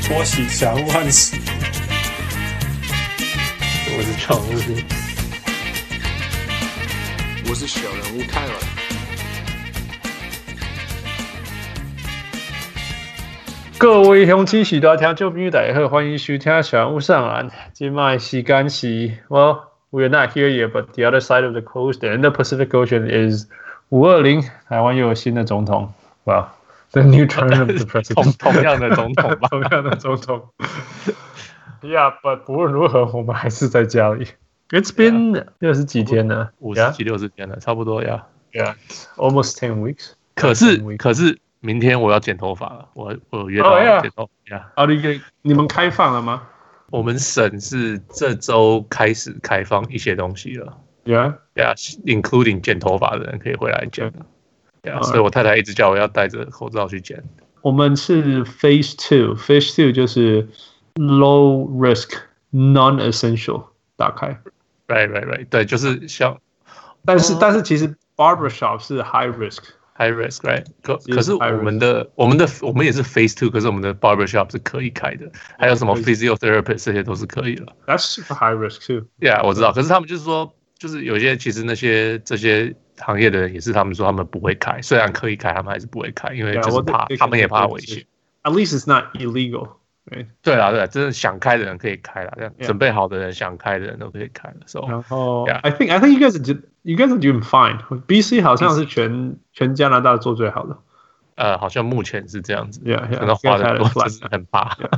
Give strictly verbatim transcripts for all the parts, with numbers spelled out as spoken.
托起小人物漢斯， 我是常務， 我是小人物泰文。 各位乡親時代聽眾朋友大家好，歡迎收聽小人物上籃。今麥時間是 Well, we're not here yet, but the other side of the coast, the Indo-Pacific Ocean is 五二零，台灣又有新的總統。Well, the new term of the president. 同樣的總統吧， 同樣的總統。Yeah, but 無論如何，我們還是在家裡。It's been 六十幾天了， 五十幾六十天了，差不多呀。 Yeah, almost ten weeks. 可是可是明天我要剪頭髮了，我我有約到剪頭髮。 哦，你你們開放了嗎？ 我們省是這周開始開放一些東西了。 Yeah, yeah, including 剪頭髮的人可以回來剪。Yeah, 所以我太太一直叫我要戴着口罩去剪。 我們是 Phase Two, Phase Two 就是 Low Risk, Non-Essential 打開。 Right, right, right. 對，就是像， 但是、哦、但是其實 Barbershop 是 High Risk。High risk, right? 可可是我們的我們的我們也是 Phase Two， 可是我們的 barbershop 是可以開的，還有什麼 physiotherapist 這些都是可以的。 That's super high risk too. Yeah, 我知道。可是他們就是說，就是有些其實那些這些行業的人也是，他們說他們不會開，雖然可以開，他們還是不會開，因為就是怕， yeah, 他們也怕危險。 At least it's not illegal. Right? 對啦，對啦，真的想開的人可以開啦，這樣 yeah. 準備好的人想開的人都可以開了。So, 然後 yeah. I think I think you guys are you guys are doing fine. B C 好像是全全加拿大做最好的。 呃，好像目前是這樣子。 Yeah, yeah. 可能花的多，真是很怕。 Yeah.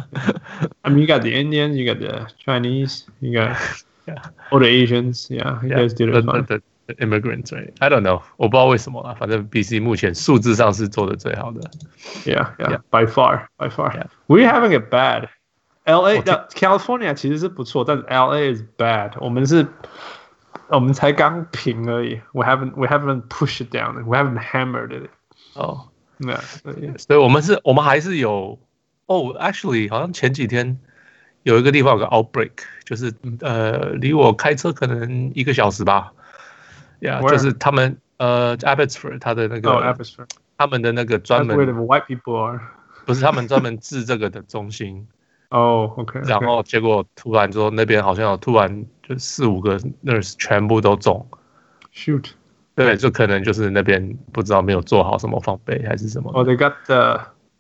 I mean, you got the Indians, you got the Chinese, you got yeah. all the Asians. Yeah, you guys did it fine. The, the, the immigrants, right? I don't know. 我不知道為什麼啦，反正 B C 目前數字上是做的最好的。 Yeah, yeah, yeah. By far, by far. Yeah. We're having it bad. L A, California 其實是不錯，但是 L A is bad. 我們是，我們才剛平而已。We haven't, we haven't pushed it down. We haven't hammered it. 哦， 那所以我們是，我們還是有。哦 ，actually， 好像前幾天有一個地方有個 outbreak， 就是呃，離我開車可能一個小時吧。Yeah， 就是他們呃 ，Abbotsford 他的那個， oh, Abbotsford. 他們的那個專門 That's where the white people are. 不是他們專門治這個的中心。 哦、oh, ，OK， 然後結果突然說那邊好像有突然就四五個 nurse 全部都中 ，shoot， 對，就可能就是那邊不知道沒有做好什麼防備還是什麼。 Oh, they got the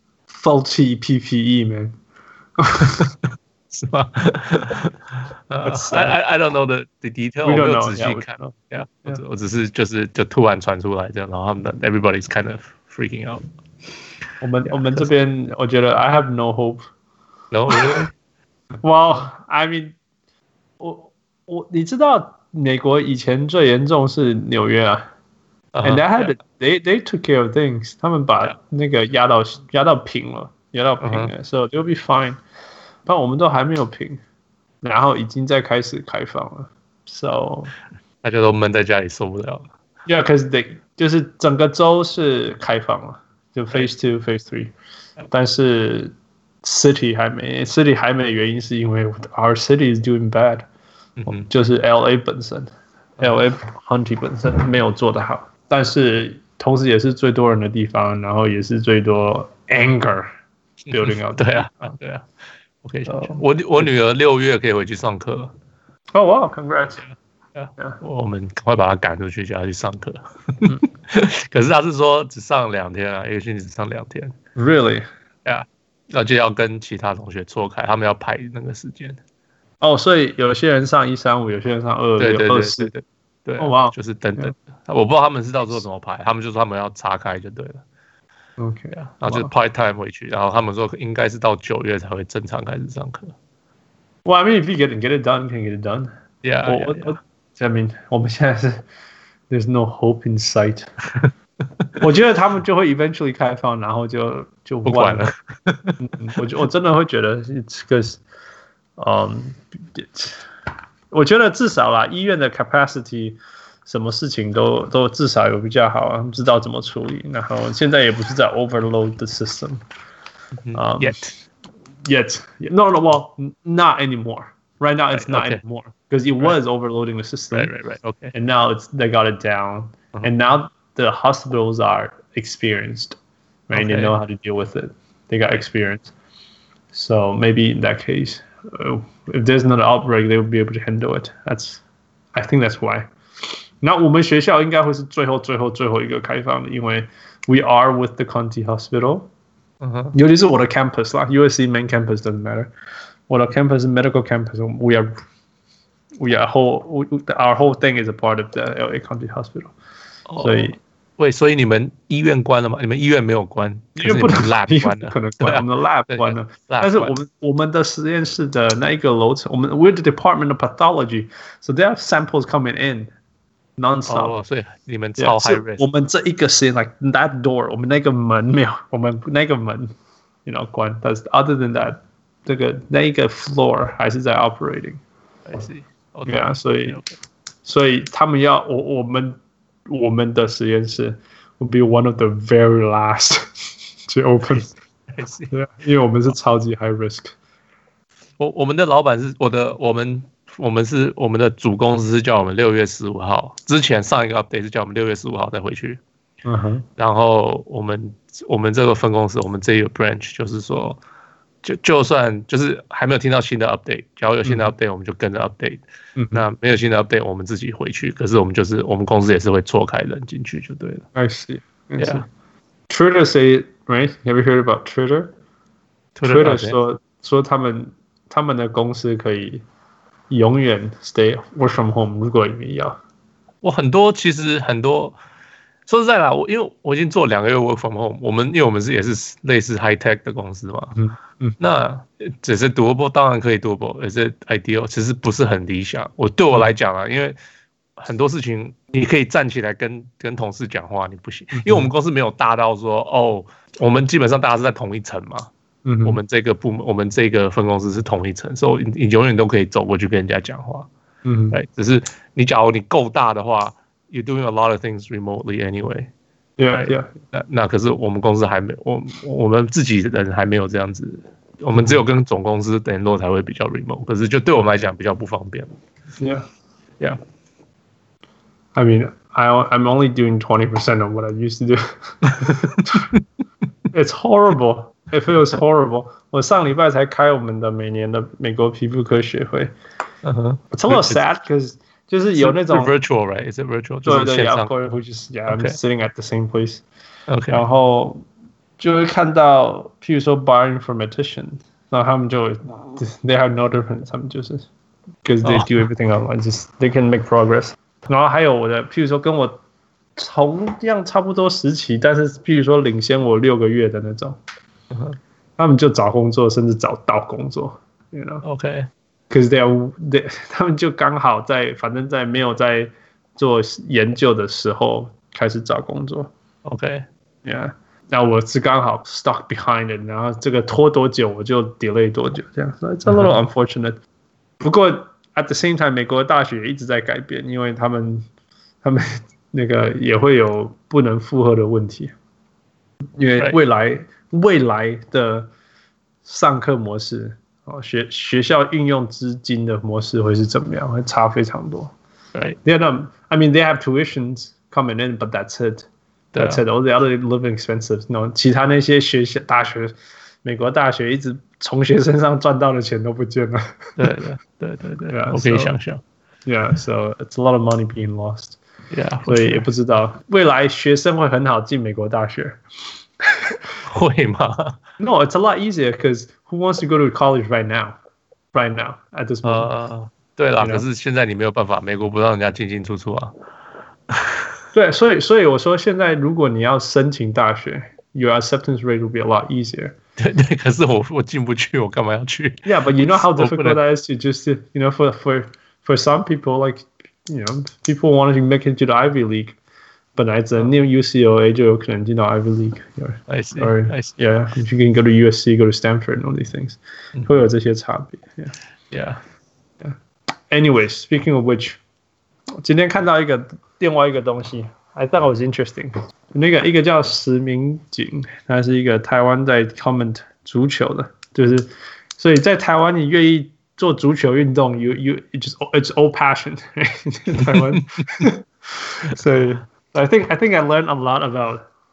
faulty P P E, man 。 是嗎？呃、uh, ，I I don't know the the detail， 我沒有仔細看。Yeah, yeah. 我, 我只是就是就突然傳出來這樣，然後他們的 everybody's kind of freaking out。 我們、yeah, 我們這邊我覺得 I have no hope。No, really? Well, I mean， 我我你知道美國以前最嚴重是紐約啊、uh-huh, ，and they had yeah. they they took care of things， 他們把那個壓到壓到平了，壓到平了 ，uh-huh. ，so they'll be fine。但我們都還沒有平，然後已經在開始開放了 ，so 大家都悶在家裡受不了了。 Yeah, because they 就是整個州是開放了，就 Phase Two, Phase Three， 但是 City 還沒 ，City 還沒的原因是因為 Our city is doing bad，、嗯、就是 L A 本身、嗯、，L A Hunty 本身沒有做得好，但是同時也是最多人的地方，然後也是最多 anger building up、嗯。 對啊，對啊。OK， 我我女兒六月可以回去上課。 哦哇 ，Congrats！ Yeah, yeah. 我們趕快把她趕出去，叫她去上課。可是她是說只上兩天啊，一個星期只上兩天。 Really？ Yeah， 那就要跟其他同學錯開，他們要排那個時間。 哦、oh, ，所以有些人上一三五，有些人上二六、二四。對對， 哦哇， 就是等等。Yeah. 我不知道他們是到時候怎麼排，他們就說他們要岔開就對了。 OK， 然後就 part time 回去，然後他們說應該是到九月才會正常開始上課。 Well, I mean, if you get get it done, you can get it done. Yeah, 我 yeah, 我 I mean, 我們現在是 there's no hope in sight. 我覺得他們就會 eventually 開放，然後就就不管了。 我我真的會覺得 it's because, um, 我覺得至少啦，醫院的 capacity。什麼事情都都至少有比較好啊，知道怎麼處理。然後現在也不是在 overload the system， um, yet yet no no well not anymore. Right now it's right, not okay. anymore because it was right. overloading the system. Right right right. Okay. And now it's they got it down. Uh-huh. And now the hospitals are experienced, right? Okay. They know how to deal with it. They got experience. So maybe in that case, uh, if there's another outbreak, they will be able to handle it. That's, I think that's why. 那我们学校应该会是最后最后最后一个開放的，因為 we are with the Conti Hospital， uh-huh. 尤其是我的 campus 啦 ，U S C main campus doesn't matter。我的 campus 是 medical campus，we are we are whole our whole thing is a part of the L A County Hospital， oh. 所以。 喂，所以你們醫院關了嗎？你們醫院沒有關， 醫院不能 lab 關了， 可能關，我們的 lab 關了。但是我們我們的實驗室的那一個樓層，我們 we're the Department of Pathology，so they have samples coming in non-stop。 哦，所以你們超 high risk。 我們這一個實驗 like that door， 我們那個門沒有，我們那個門 you know 關，但是 other than that， 這個那一個 floor 還是在 operating。I see。Okay。Yeah， 所以所以他們要我我們。我們的實驗室 will be one of the very last to open， 對，因為我們是超級 high risk。 我我們的老闆是我的，我們我們是我們的主公司是叫我們六月十五號之前上一個 update 是叫我們六月十五號再回去。 嗯哼， 然後我們我們這個分公司，我們這個 branch 就是說。就就算就是還沒有聽到新的 update， 假如有新的 update，、嗯、我們就跟着 update、嗯。那沒有新的 update， 我們自己回去。可是我們就是我們公司也是會錯開人進去就對了。 I see. I see. Yeah. Twitter say right? Have you heard about Twitter? Twitter, Twitter 說說他們他們的公司可以永遠 stay work from home， 如果你們要。 我很多其實很多。說實在啦，我因為我已經做兩個月 work from home， 我們因為我們是也是類似 high tech 的公司嘛，嗯嗯，那只是 doable， 當然可以 doable， 也是 ideal， 其實不是很理想。我對我來講啊，因為很多事情你可以站起來跟跟同事講話，你不行，因為我們公司沒有大到說哦，我們基本上大家是在同一層嘛，嗯，我們這個部門，我們這個分公司是同一層，所以你你永遠都可以走過去跟人家講話，嗯，對，只是你假如你夠大的話。You're doing a lot of things remotely anyway. Yeah, yeah. 那那可是我們公司還沒，我我們自己人還沒有這樣子，我們只有跟總公司聯絡才會比較 remote。可是就對我們來講比較不方便。 Yeah, yeah. I mean, I I'm only doing twenty percent of what I used to do. It's horrible. It feels horrible. 我上禮拜才開我們的每年的美國皮膚科學會。Uh huh. It's a little sad because. 就是有那種 virtual, right? Is it virtual? 對對 yeah, of course, which is yeah, I'm okay. sitting at the same place. Okay. 然後就會看到，譬如說 bioinformatician， 然後他們就 they have no difference， 他們就是 because they do everything online, just they can make progress. 然後還有我的，譬如說跟我同樣差不多時期，但是譬如說領先我六個月的那種， uh-huh. 他們就找工作，甚至找到工作 ，you know? Okay.Because they are, they, 他們就剛好在，反正在沒有在做研究的時候開始找工作。 OK， yeah， 那我是剛好 stuck behind it， 然後這個拖多久我就 delay 多久，這樣。So it's a little unfortunate。Uh-huh. 不過 at the same time， 美國的大學也一直在改變，因為他們他們那個也會有不能負荷的問題，因為未來、right. 未來的上課模式。哦，學學校運用資金的模式會是怎麼樣？會差非常多。 Right. They're not, I mean, they have tuitions coming in, but that's it. That's it. All the other living expenses, no. 其他那些學校大學，美國大學一直從學生上賺到的錢都不見了。 對對對對對， yeah, 我可以想象。 So, yeah, so it's a lot of money being lost. Yeah, 所以也不知道未來學生會很好進美國大學。 會嗎 ？No, it's a lot easier because who wants to go to college right now? Right now, at this moment. 呃，對啦， you know? 可是現在你沒有辦法，美國不讓人家進進出出啊。 對，所以所以我說，現在如果你要申請大學 ，your acceptance rate will be a lot easier. 對對，可是我我進不去，我幹嘛要去 ？Yeah, but you know how difficult that is to just, you know, for for for some people, like, you know, people wanting to make it to the Ivy League. 本來只能念 U C L A 就有可能進到 Ivy League. Or, I see. Or, I see. Yeah, if you can go to U S C, go to Stanford, and all these things. 會有這些差別。Yeah. Yeah. Yeah. Anyways, speaking of which, 今天看到一個另外一個東西 ，I thought it was interesting. 那個一個叫石明景，他是一個台灣在 comment 足球的，就是所以在台灣你願意做足球運動 ，you you it's just it's all passion. 台灣，所以。I think I think I learned a lot about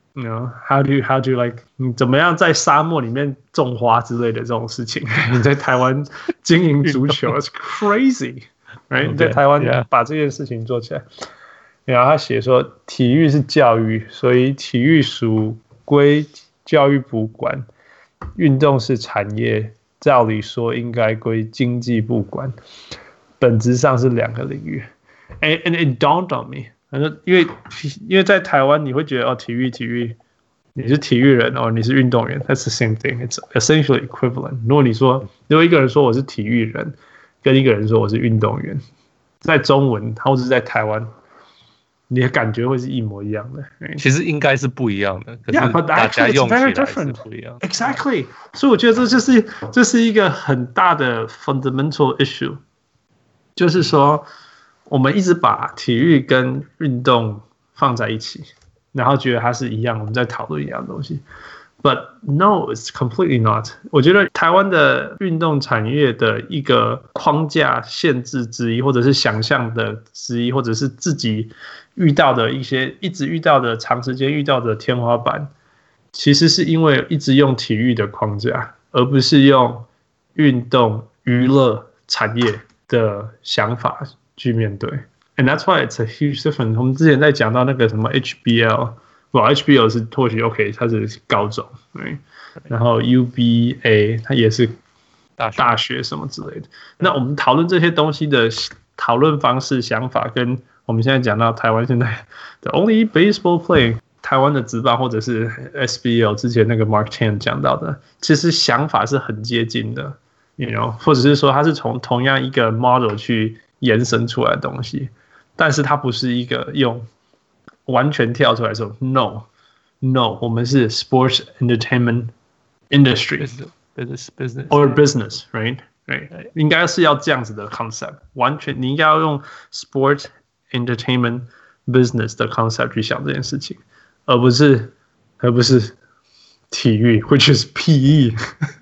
You know, how do you, how do you like 你怎麼樣在沙漠裡面種花之類的這種事情？你在台灣經營足球，It's crazy， right？ 你在台灣把這件事情做起來，然後他寫說，體育是教育，所以體育屬歸教育部管，運動是產業，照理說應該歸經濟部管，本質上是兩個領域。And and it dawned on me。因為因為在台灣你會覺得哦，體育體育，你是體育人哦，你是運動員 ，That's the same thing. It's essentially equivalent. 如果你說，如果一個人說我是體育人，跟一個人說我是運動員，在中文或者是在台灣，你的感覺會是一模一樣的。 其實應該是不一樣的，可是大家用起來是不一樣的。 Exactly. 所以我覺得這就是這是一個很大的 fundamental issue， 就是說。我們一直把體育跟運動放在一起，然後覺得它是一樣，我們在討論一樣的東西。But no, it's completely not. 我覺得台灣的運動產業的一個框架限制之一，或者是想象的之一，或者是自己遇到的一些一直遇到的長時間遇到的天花板，其實是因為一直用體育的框架，而不是用運動娛樂產業的想法去面對 ，and that's why it's a huge difference。我們之前在講到那個什麼 H B L， 不 ，H B L 是或許 OK， 它是高中，對，然後 U B A 它也是大學什麼之類的。那我們討論這些東西的討論方式、想法，跟我們現在講到台灣現在的 only baseball play， 台灣的職棒或者是 S B L 之前那個 Mark Chan 講到的，其實想法是很接近的 ，you know， 或者是說它是從同樣一個 model 去延伸出來的東西，但是它不是一個用完全跳出來說 no no 我們是 sports entertainment industry business business or business right right 應該是要這樣子的 concept， 完全你應該要用 sports entertainment business 的 concept 去想這件事情，而不是而不是體育 which is P E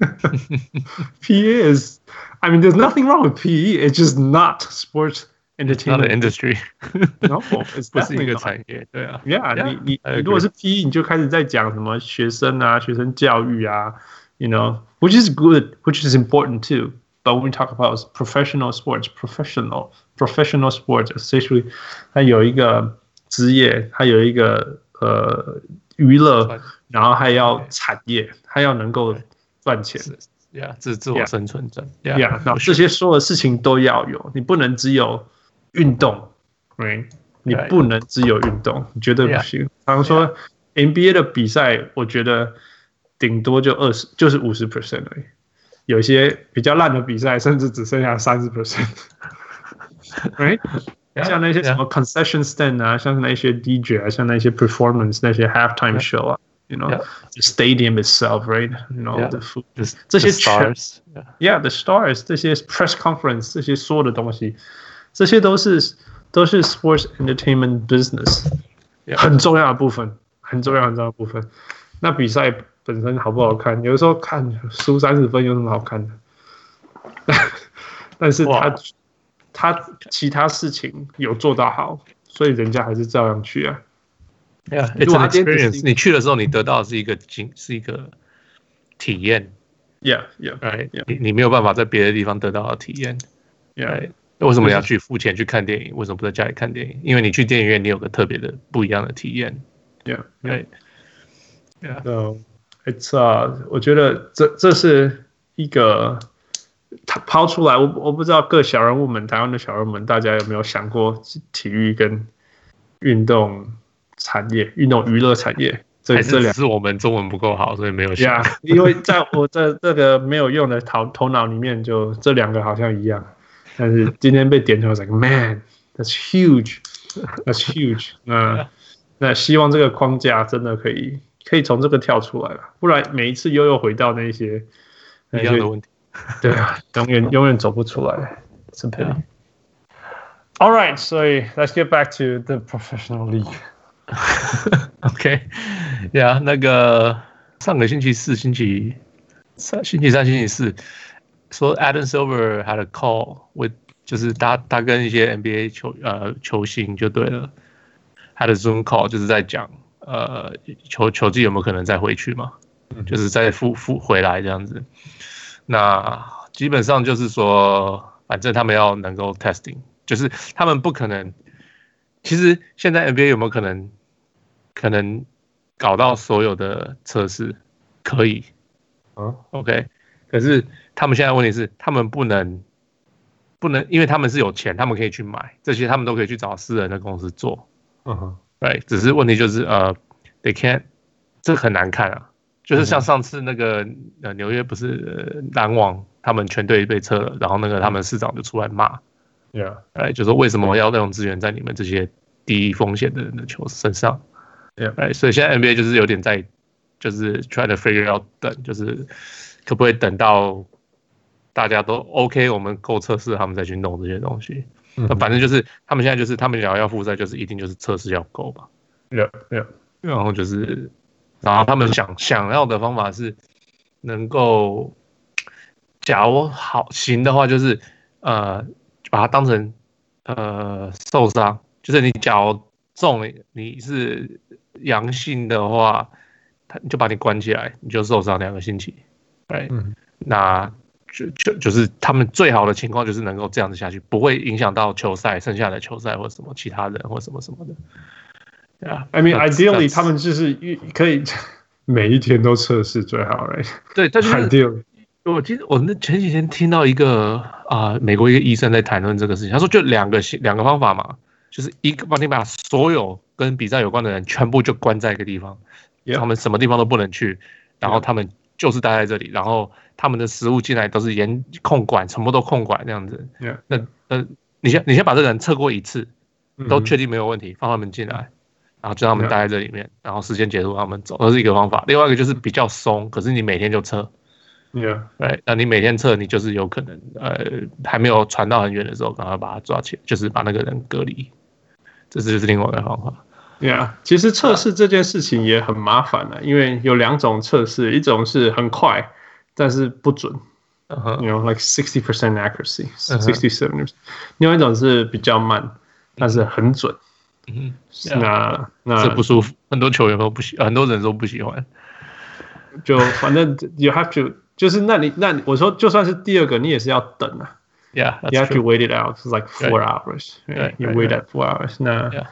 P E is I mean, there's nothing wrong with P E. It's just not sports entertainment. Not an industry. No, it's 不是一個產業。對啊 ，Yeah， yeah 你你你如果是 P E， 你就開始在講什麼學生啊、學生教育啊 ，you know, which is good, which is important too. But when we talk about professional sports, professional professional sports, essentially， 它有一個職業，它有一個呃娛樂，然後還要產業，它要能夠賺錢。 Yeah, 自自我生存者 ，Yeah， yeah 那這些所有的事情都要有，你不能只有運動 ，Right？ 你不能只有運動，你絕對不行。常說 N B A 的比賽，我覺得頂多就二十，就是五十 percent 而已。有些比較爛的比賽，甚至只剩下三十 percent，Right？ 像那些什麼 concession stand 啊，像那些 D J 啊，像那些 performance 那些 halftime show 啊。You know, yeah. the stadium itself, right? You know, yeah. the food. 這些 stars, yeah. yeah, the stars. 這些 press conference, 這些所有的東西，這些都是都是 sports entertainment business， yeah. 很重要的部分，很重要很重要的部分。那比賽本身好不好看？有的時候看輸三十分有什麼好看的？但是他他其他事情有做到好，所以人家還是照樣去啊。 Yeah, it's an experience. 你去的時候，你得到的是一個經，是一個體驗。 Yeah, yeah, right. Yeah. 你你沒有辦法在別的地方得到的體驗。 Yeah. Right? 為什麼你要去付錢去看電影？為什麼不在家裡看電影？因為你去電影院，你有個特別的不一樣的體驗。 Yeah, right. Yeah. So it's 啊、uh, ，我覺得這這是一個他拋出來，我我不知道各小人物們，台灣的小人物們，大家有沒有想過體育跟運動？產業、運動娛樂產業，這還是只是我們中文不夠好，所以沒有想。 Yeah, 因為在我這這個沒有用的頭頭腦裡面，就這兩個好像一樣。但是今天被點出來 ，like man, that's huge, that's huge 那那希望這個框架真的可以可以從這個跳出來了，不然每一次又又回到那些一樣的問題。 對啊，永遠永遠走不出來。是 pity. All right, 所以 let's get back to the professional league. OK， 呀、yeah, 那個上個星期四、星期三、星期三、星期四，說 Adam Silver had a call with， 就是他他跟一些 N B A 球呃球星就對了，他的 Zoom call 就是在講呃球球季有沒有可能再回去嘛？嗯、就是再復復回來這樣子。那基本上就是說，反正他們要能夠 testing， 就是他們不可能。其實現在 N B A 有沒有可能可能搞到所有的測試？可以，嗯 ，OK。可是他們現在問題是，他們不能不能，因為他們是有錢，他們可以去買這些，他們都可以去找私人的公司做，嗯哼，對。只是問題就是呃 ，they can't， 這很難看啊。就是像上次那個呃紐約不是籃網他們全隊被撤了，然後那個他們市長就出來罵。Yeah， 哎，就說為什麼要用資源在你們這些低風險的人的球身上 ？Yeah， 哎，所以現在 N B A 就是有點在，就是 try to figure out 等，就是可不可以等到大家都 OK， 我們夠測試，他們再去弄這些東西。那、嗯、反正就是他們現在就是他們想要複賽，就是一定就是測試要夠吧。Yeah， yeah， 然後就是，然後他們想想要的方法是能夠，假如好行的話，就是呃。把它當成呃受傷，就是你假如中了你是陽性的話，他就把你關起來，你就受傷兩個星期，對，嗯、那就就就是他們最好的情況就是能夠這樣子下去，不會影響到球賽剩下的球賽或什麼其他人或什麼什麼的。Yeah, I mean, ideally 他們就是可以每一天都測試最好，right？對，但是 ideally。我記得我那前幾天聽到一個啊、呃，美國一個醫生在談論這個事情，他說就兩個兩個方法嘛，就是一個幫你把所有跟比賽有關的人全部就關在一個地方， yeah. 他們什麼地方都不能去，然後他們就是待在這裡，然後他們的食物進來都是嚴控管，什麼都控管這樣子。Yeah. 那那你先你先把這個人測過一次，都確定沒有問題，放他們進來，然後就讓他們待在這裡面，然後時間結束他們走，這是一個方法。另外一個就是比較鬆，可是你每天就測。Yeah， right， 那你每天測，你就是有可能，呃，還沒有傳到很遠的時候，趕快把他抓起來，就是把那個人隔離，這是就是另外一個方法。Yeah， 其實測試這件事情也很麻煩的，因為有兩種測試，一種是很快，但是不準、uh-huh. ，you know like sixty percent accuracy, sixty seven percent， 另外一種是比較慢，但是很準。嗯、uh-huh. 那那這不舒服，很多球員都不喜，很多人都不喜歡。就反正 you have to。就是那你那你我說就算是第二個你也是要等啊 ，Yeah， you have to wait it out. It's like four right. hours. Right? Right, you wait right, at four hours. 那 yeah.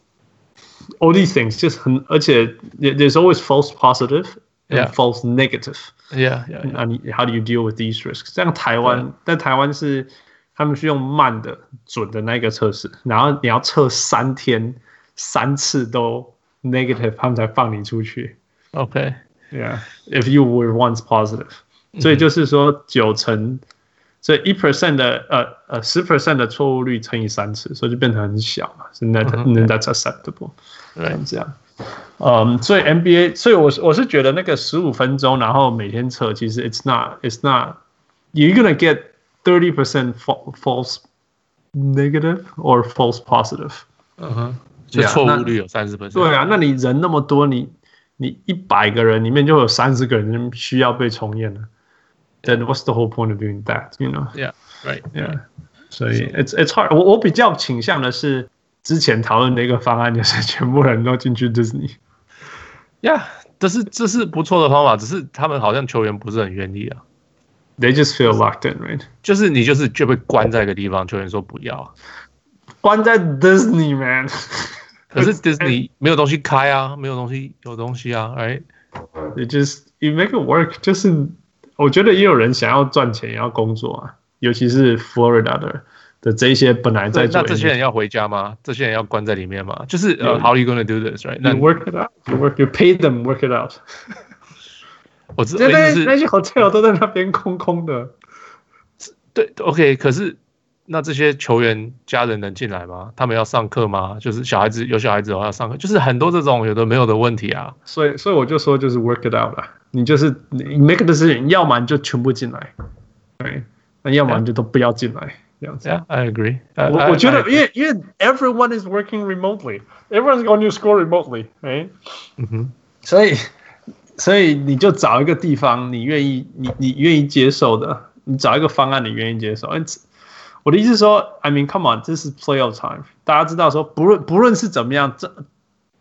all these things 就是很而且 there's always false positive and yeah. false negative. Yeah, yeah, yeah. 那你 how do you deal with these risks? 像台灣， yeah. 但台灣是他們是用慢的準的那個測試，然後你要測三天三次都 negative， 他們才放你出去。OK，Yeah， if you were once positive。所以就是說九成，所以一 percent 的呃呃十 percent 的錯誤率乘以三次，所以就變成很小嘛，是 that that's acceptable， 對，這樣。嗯，所以 N B A， 所以我我是覺得那個十五分鐘，然後每天測，其實 it's not it's not you're gonna get thirty percent false negative or false positive。嗯哼，就錯誤率有三十 percent。對啊，那你人那麼多，你你一百個人裡面就有三十個人需要被重驗了。Then what's the whole point of doing that? You know? Yeah, right. Yeah. 所以 it's it's hard. 我我比較傾向的是之前討論的一個方案，就是全部人都進去 Disney。Yeah， 這是這是不錯的方法，只是他們好像球員不是很願意啊。They just feel locked in, right? 就是你就是就被關在一個地方，球員說不要，關在 Disney, man. 可是 Disney 沒有東西開啊，沒有東西有東西啊 ，right? It just you make it work， 就是。我覺得也有人想要賺錢，也要工作啊，尤其是 Florida 的的這一些本來在做。那這些人要回家嗎？這些人要關在裡面嗎？就是呃、uh, ，How are you going to do this, right? You work it out. You work. You pay them work it out. 我知道，那那些 hotel 都在那邊空空的。對 ，OK。可是那這些球員家人能進來嗎？他們要上課嗎？就是小孩子有小孩子的話要上課，就是很多這種有的沒有的問題啊。所以，所以我就說就是 work it out 啦。你就是你 make a decision， 要麼你就全部進來，對，那要麼你就都不要進來，這樣子。Yeah, I agree. 我我覺得，因為因為 everyone is working remotely, everyone's going to school remotely, right? 嗯哼，所以所以你就找一個地方，你願意你你願意接受的，你找一個方案，你願意接受。我的意思是說 ，I mean, come on，這是 playoff time， 大家知道說，不論不論是怎麼樣，這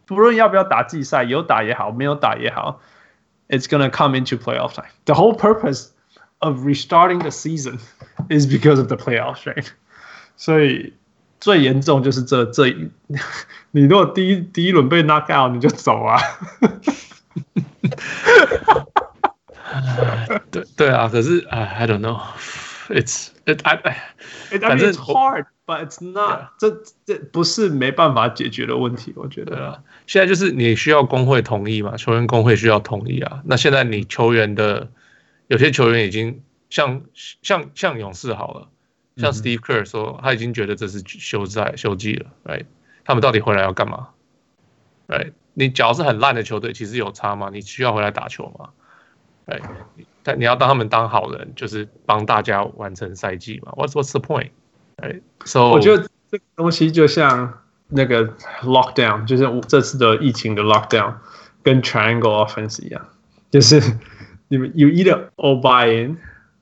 不論要不要打季賽，有打也好，沒有打也好 ，it's gonna come into playoff time. The whole purpose of restarting the season is because of the playoffs, right? 所以最嚴重就是這這，你如果第一第一輪被 knock out， 你就走啊。 對對啊，可是 I don't know, it's it I it, I mean, it's hard, but it's not. 這這不是沒辦法解決的問題，我覺得。 啊，現在就是你需要工會同意嘛，球員工會需要同意啊。那現在你球員的有些球員已經像像像勇士好了，像 Steve Kerr 說他已經覺得這是休賽休季了 ，right？ 他們到底回來要幹嘛 ？right？ 你假如是很爛的球隊，其實有差嗎？你需要回來打球嗎？對，但你要當他們當好人，就是幫大家完成賽季嘛。What's What's the point? Right? So 我覺得這個東西就像那個 lockdown， 就是這次的疫情的 lockdown， 跟 triangle offense 一樣，就是你們 you either all buy in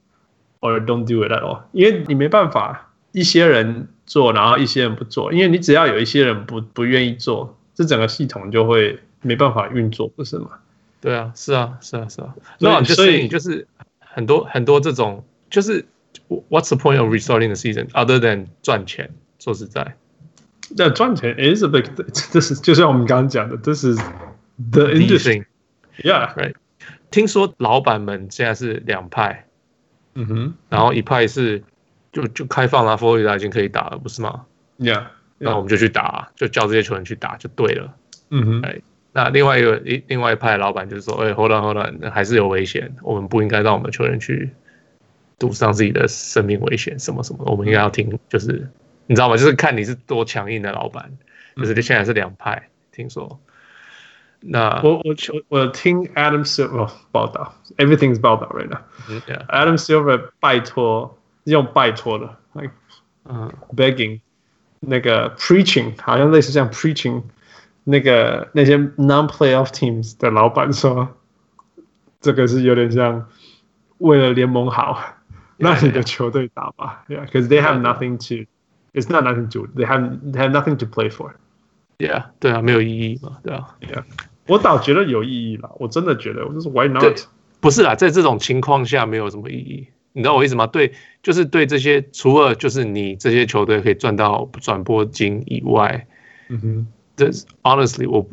or don't do it at all， 因為你沒辦法，一些人做，然後一些人不做，因為你只要有一些人不不願意做，這整個系統就會沒辦法運作，不是嗎？对啊， 是啊，是啊，是啊。那就所以就是很多很多這種，就是 What's the point of restarting the season other than 賺錢？說實在， 那賺錢 is a big， 這是就像我們剛剛講的，這是 the industry。Yeah， right。聽說老闆們現在是兩派，嗯哼，然後一派是就就開放了，佛羅里達已經可以打了，不是嗎 ？Yeah， 那我們就去打，就叫這些球員去打就對了。嗯哼，哎。那另外一個另外一派的老闆就是說，哎、欸、，hold on hold on， 還是有危險，我們不應該讓我們球員去賭上自己的生命危險，什麼什麼，我們應該要聽，就是你知道嗎？就是看你是多強硬的老闆，就是現在是兩派，聽說。那我我我聽 Adam Silver 報道 ，everything's 報道 right now。Yeah. Adam Silver 拜托，用拜托的 ，like， 嗯 ，begging， 那個 preaching， 好像類似像 preaching。那個那些 non-playoff teams 的老闆說，這個是有點像為了聯盟好，讓你的球隊打吧 ，Yeah， because they have nothing to, it's not nothing to, they have they have nothing to play for. Yeah， 對啊，沒有意義嘛，對啊 ，Yeah， 我倒覺得有意義啦，我真的覺得，我就是 Why not？ 不是啦，在這種情況下沒有什麼意義，你知道我意思嗎？對，就是對這些除了就是你這些球隊可以賺到轉播金以外，嗯哼。Honestly, 我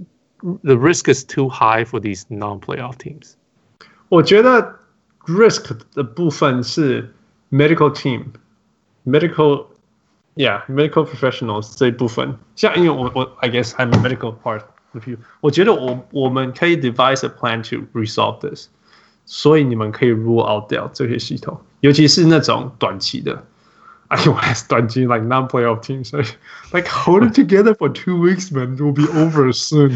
the risk is too high for these non-playoff teams. 我覺得 risk 的部分是 medical team, medical, yeah, medical professionals 這一部分。像因為我我 I guess I'm a medical part of you. 我覺得我我們可以 devise a plan to resolve this. 所以你們可以 rule out 掉這些系統，尤其是那種短期的。I was starting like non-playoff teams. Like, like hold it together for two weeks, man. It will be over soon.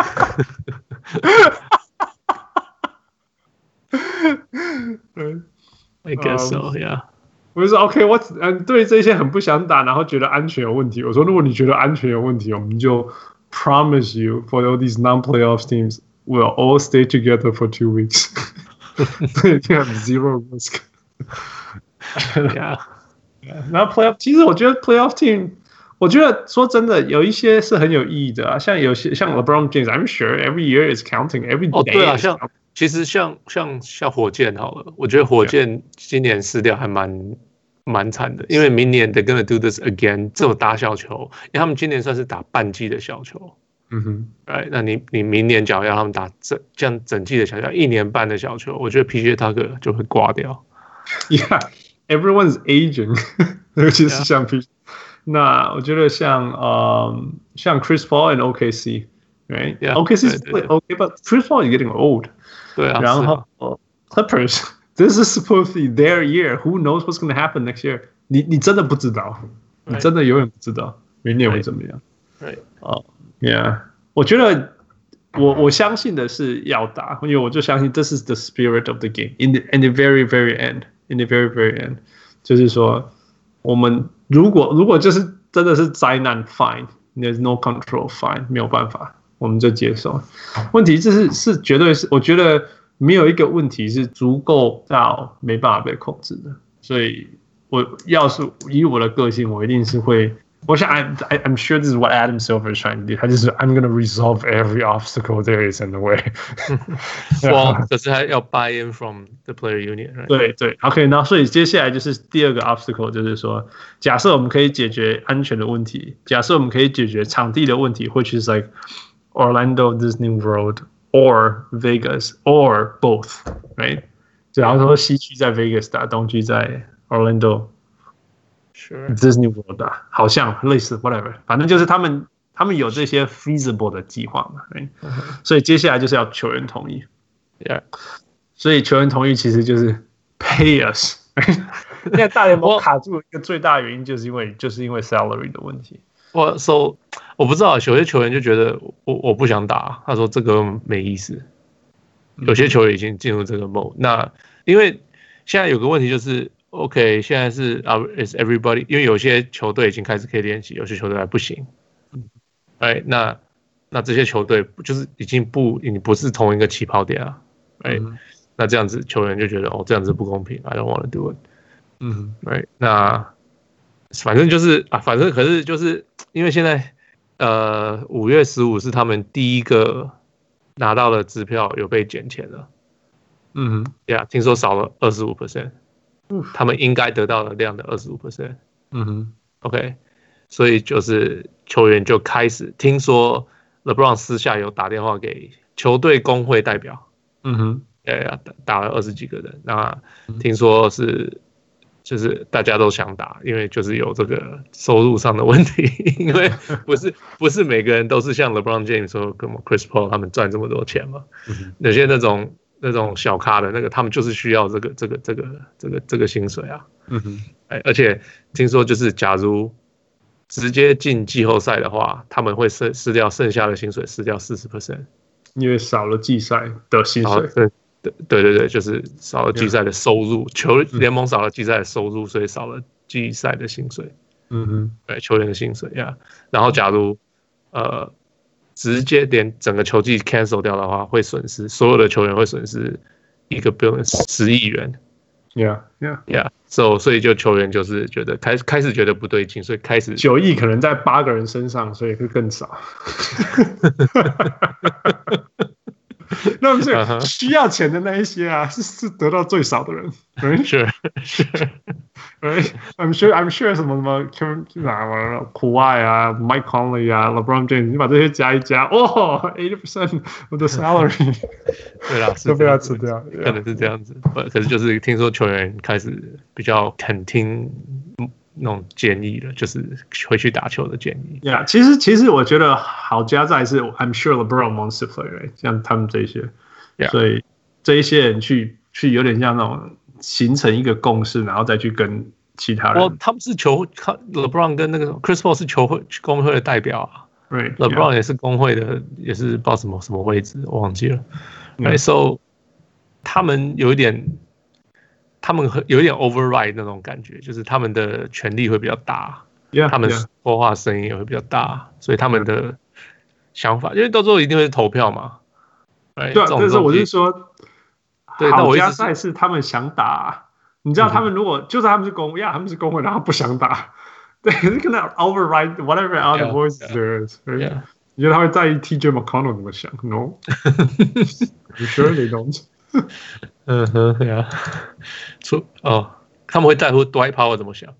I guess so, yeah. 我就說 OK， 我嗯對這些很不想打，然後覺得安全有問題。我說如果你覺得安全有問題，我們就 promise you for all these non-playoff teams, we'll all stay together for two weeks. You have zero risk. Yeah. 然後 playoff， 其實我覺得 playoff team， 我覺得說真的，有一些是很有意義的啊，像有些像 LeBron James，I'm sure every year is counting every day。哦， 對啊，像其實像像像火箭好了，我覺得火箭今年失掉還蠻蠻慘的，因為明年 they're gonna do this again， 這種打小球，因為他們今年算是打半季的小球，嗯哼，哎，那你你明年假如要他們打整這樣整季的小球，一年半的小球，我覺得 P J Tucker 就會掛掉。 Yeah。Everyone's aging， 尤其是像 P， 那我覺得像呃像 Chris Paul and O K C，right？ Yeah, O K C is okay，but Chris Paul is getting old。 对啊。 然後、啊、Clippers，this is supposed to be their year。Who knows what's going to happen next year？ 你你真的不知道， Right. 你真的永遠不知道明年會怎麼樣。 對， 哦 ，Yeah， 我覺得我我相信的是要打，因為我就相信 this is the spirit of the game in the in the very very end。In the very very end， 就是說，我們如果如果就是真的是災難 ，fine，there's no control fine， 沒有辦法，我們就接受。問題就是是絕對是，我覺得沒有一個問題是足夠到沒辦法被控制的。所以，我要是以我的個性，我一定是會我想 I, I I'm sure this is what Adam Silver is trying to do. 他就是 I'm gonna resolve every obstacle there is in the way. Well, 可是還要 buy in from the player union. Right? 对对 ，OK， 那所以接下來就是第二個 obstacle， 就是說，假設我們可以解決安全的問題，假設我們可以解決場地的問題 ，which is like Orlando Disney World or Vegas or both, right？ 假如說西區在 Vegas 打，東區在 Orlando。Sure. Disney World 打，好像類似 whatever， 反正就是他們他們有這些 feasible 的計劃嘛 ，right？、Uh-huh. 所以接下來就是要球員同意 ，Yeah。 所以球員同意其實就是 pay us。現在大聯盟卡住一個最大的原因就是因為就是因為 salary 的問題。 我 so 我不知道，有些球員就覺得我我不想打，他說這個沒意思。有些球員已經進入這個 mode，、嗯、那因為現在有個問題就是。OK， 現在是啊 ，is everybody， 因為有些球隊已經開始可以練習，有些球隊還不行。哎，那那這些球隊就是已經不，你不是同一個起跑點啊。哎、嗯，那這樣子球員就覺得哦，這樣子不公平 ，I don't want to do it。嗯，哎，那反正就是啊，反正可是就是因為現在呃五月十五是他們第一個拿到的支票有被減錢了。嗯哼，呀、yeah, 聽說少了二十五 percent。他們應該得到的量的 百分之二十五。嗯哼 ，OK， 所以就是球員就開始聽說 LeBron 私下有打電話給球隊工會代表，嗯哼，哎，打了二十幾個人，那聽說是就是大家都想打，因為就是有這個收入上的問題，因為不是不是每個人都是像 LeBron James 說跟 Chris Paul 他們賺這麼多錢嘛，嗯、有些那種。那種小咖的那個，他們就是需要這個、這個、這個、這個、這個薪水啊。嗯哼，哎，而且聽說就是，假如直接進季後賽的話，他們會失失掉剩下的薪水，失掉四十 percent， 因為少了季賽的薪水。 對對對對，就是少了季賽的收入， yeah. 球聯盟少了季賽的收入，所以少了季賽的薪水。嗯哼，對，球員的薪水呀。Yeah. 然後假如呃。直接連整個球季 cancel 掉的話，會損失所有的球員會損失一個 billion 十億元。 Yeah, yeah, yeah. So 所以就球員就是覺得開開始覺得不對勁，所以開始九億可能在八個人身上，所以會更少。那不是需要錢的那一些啊，是是得到最少的人。 是是。 Right? I'm sure, I'm sure 什麼什麼 Kawhi 啊 ，Mike Conley 啊 ，LeBron James， 你把這些加一加，哦 ，eighty percent of the salary， 對啦， 都被他吃掉， 可能是這樣子。可是就是聽說球員開始比較肯聽那種建議了，就是回去打球的建議。 Yeah， 其實其實我覺得好加在是 ，I'm sure LeBron wants to play，right？ 像他們這些， yeah. 所以這一些人去去有點像那種。形成一個共識，然後再去跟其他人。 哦，他們是球 ，LeBron 跟那個 Chris Paul 是球會工會的代表啊。 Right, LeBron yeah. 也是工會的，也是不知道什麼什麼位置，我忘記了。Right, so 他們有一點，他們有一點 override 那種感覺，就是他們的權力會比較大， yeah, 他們說話聲音也會比較大，所以他們的想法，因為到最後一定會是投票嘛。Right, 對啊，但是我是說。 對， 好加賽是他們想打、啊，你知道他們如果、嗯、就算他們是工會，呀，他們是工會，然後不想打，對，是跟他 override whatever other yeah, voices yeah, there is， right? Yeah. 你覺得他會在意 T J McConnell 怎麼想 ？No，You sure they don't？ 嗯哼，對啊，出哦，他們會在乎 Dwight Powell 怎麼想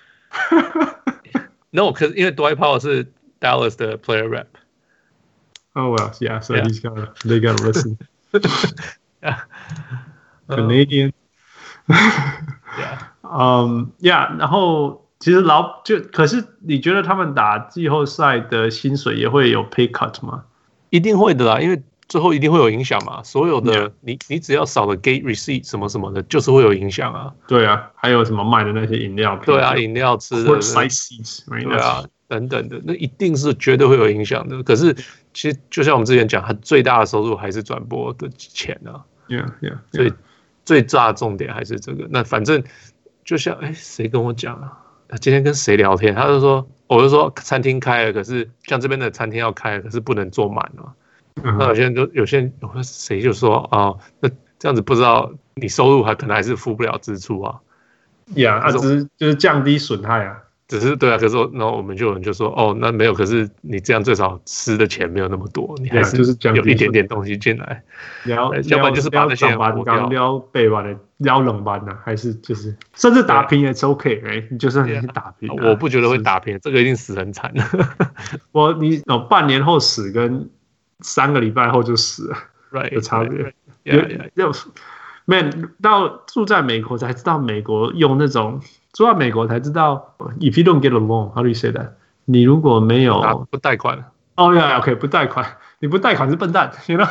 ？No， 可是因為 Dwight Powell 是 Dallas 的 player rep。Oh well, yeah, so yeah. he's gotta, they gotta listen. Yeah. Canadian. Yeah. Um, yeah. 然後其實老就可是你覺得他們打季後賽的薪水也會有 pay cut 嗎？ 一定會的啦，因為最後一定會有影響嘛。所有的、yeah. 你你只要少了 gate receipt 什麼什麼的，就是會有影響啊。 對啊，還有什麼賣的那些飲料？ 對啊，飲料吃的。 Right? 對啊，等等的，那一定是絕對會有影響的。可是其實就像我們之前講，它最大的收入還是轉播的錢啊。 Yeah, yeah, yeah. 所以最大的重點還是這個。那反正就像哎，誰跟我講啊？他今天跟誰聊天？他就說，我就說餐廳開了，可是像這邊的餐廳要開了，可是不能坐滿啊。Uh-huh. 那有些人就有些人，誰就說啊、哦，那這樣子不知道你收入還可能還是付不了支出啊。 Yeah， 啊，只是就是降低損害啊。 只是對啊，可是然後我們就有人就說，哦，那沒有，可是你這樣最少吃的錢沒有那麼多，你還是有一點點東西進來。要要不然就是把那些剛剛撩背完的撩冷班呢，還是就是甚至打平也是 OK， 哎，你就算你打平， 我不觉得會打平，這個一定死很慘。 我你哦，半年後死跟三個禮拜後就死了，有差別。有 man 到住在美國才知道，美國用那種。住到美國才知道 ，if you don't get a loan, how do you say that？ 你如果沒有不貸款， 哦、oh, 呀 ，OK， 不貸款，你不貸款是笨蛋 ，you know？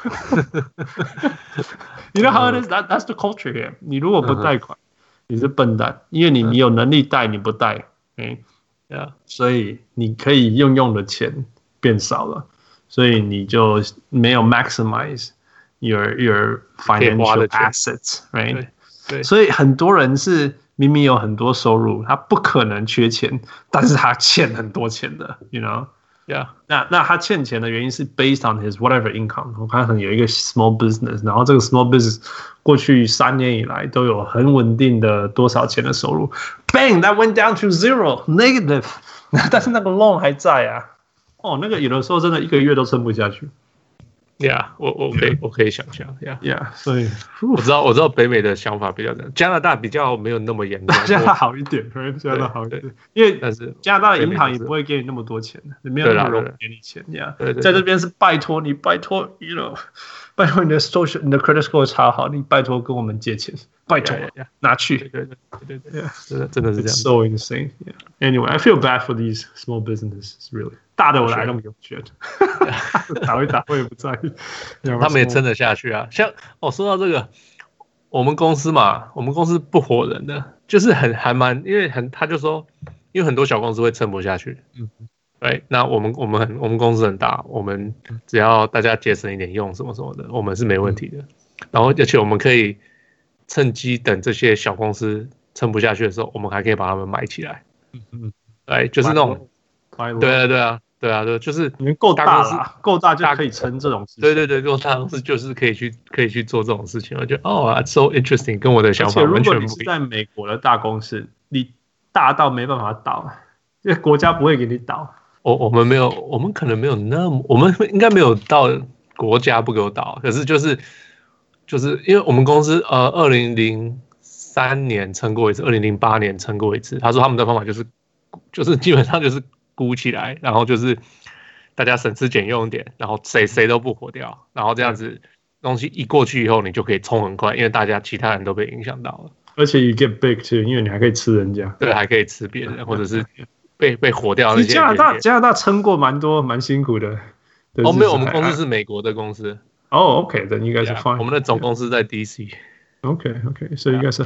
You know how it is? That that's the culture here。你如果不貸款，你是笨蛋，因為你你有能力貸，你不貸，嗯， yeah. 所以你可以用用的錢變少了，所以你就沒有 maximize your your financial assets，right？ 對，對，所以很多人是。明明有很多收入，他不可能缺錢，但是他欠很多錢的 ，you know？ Yeah， 那那他欠錢的原因是 based on his whatever income。我看可能有一個 small business， 然後這個 small business 過去三年以來都有很穩定的多少錢的收入 ，bang that went down to zero negative， 但是那個 loan 還在啊，哦，那個有的時候真的一個月都撐不下去。 Yeah， 我我可以我可以想象 ，Yeah， Yeah， 所以我知道我知道北美的想法比較這樣，加拿大比較沒有那麼嚴重， 加拿大好一點，加拿大好一點，因為但是加拿大的銀行也不會給你那麼多錢的，沒有那麼容易給你錢呀。Yeah，在這邊是拜託你，拜託，you know， 拜託你的 social， 你的 credit score 超好，你拜託跟我們借錢，拜託 yeah, yeah, 拿去。 對對對對對，真的真的是這樣。 So insane. Anyway, I feel bad for these small businesses, really. 大的我來弄有钱，打一打我也不在意， 他們也撐得下去啊。像哦，說到這個，我們公司嘛，我們公司不火人的，就是很還蠻，因為很他就說，因為很多小公司會撐不下去，嗯，對，那我們我們很我們公司很大，我們只要大家節省一點用什麼什麼的，我們是沒問題的。嗯、然後而且我們可以趁機等這些小公司撐不下去的時候，我們還可以把他們買起來，嗯嗯，對，就是那種。對啊，對啊，對啊，對，就是你們夠大了，夠大就可以撐這種事情。 對對對，夠大公司就是可以去可以去做這種事情。我覺得哦、oh, ，so interesting， 跟我的想法完全不一樣。 如果你是在美國的大公司，你大到沒辦法倒，因為國家不會給你倒。 我我們沒有，我們可能沒有那麼，我們應該沒有到國家不給我倒。可是就是就是因為我們公司呃，二零零三年撐過一次，二零零八年撐過一次。他說他們的方法就是就是基本上就是。鼓起來，然後就是大家省吃儉用一點，然後誰誰都不火掉，然後這樣子東西一過去以後，你就可以衝很快，因為大家其他人都被影響到了。 而且 you get big too， 因為你還可以吃人家， 對，還可以吃別人，或者是被被火掉那些。 加拿大加拿大撐過蠻多蠻辛苦的。 哦，沒有，我們公司是美國的公司。 哦 ，OK，then you guys are fine。 我們的總公司在 D C。OK，OK，so you guys are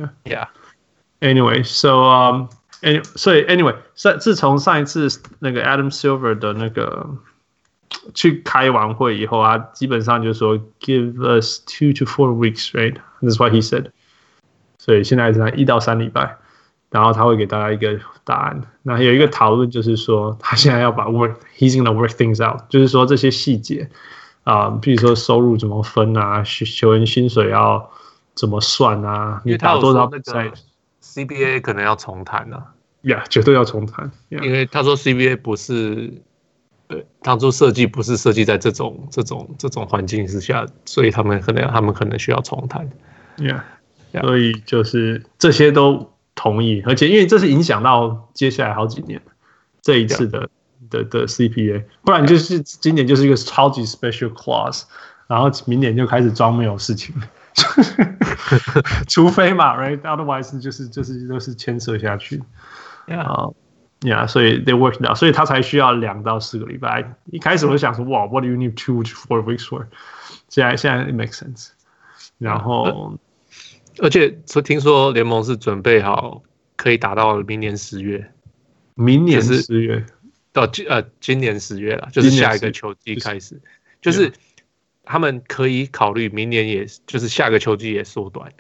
fine，yeah。Yeah。Anyway, so um. Anyway, 所以 anyway， 自從上一次那個 Adam Silver 的那個去開完會以後啊，基本上就說 give us two to four weeks, right? That's what he said. 所以現在是一到三禮拜，然後他會給大家一個答案。那有一個討論就是說，他現在要把 work, he's gonna work things out， 就是說這些細節啊，比如說收入怎麼分啊，球員薪水要怎麼算啊，你打多少比賽。 C B A 可能要重談啊， 呀， yeah, 絕對要重談。Yeah. 因為他說 C B A 不是，呃，當初設計不是設計在這種這種這種環境之下，所以他們可能他們可能需要重談。 Yeah. Yeah. 所以就是這些都同意，而且因為這是影響到接下來好幾年這一次的 Yeah. 的的 C P A， 不然就是今年就是一個超級 special clause， 然後明年就開始裝沒有事情。除非嘛 ，right？ Otherwise 就是就是都是牽涉下去，啊 ，yeah， yeah， 所以 they work it out， 所以他才需要兩到四個禮拜。一開始我就想說，哇 ，What do you need two to four weeks for？ 現在現在 it makes sense。然後， 而且聽說聯盟是準備好可以打到明年十月， 明年十月到呃今年十月了，就是下一個球季開始，就是。他們可以考慮明年，也就是下個球季也縮短。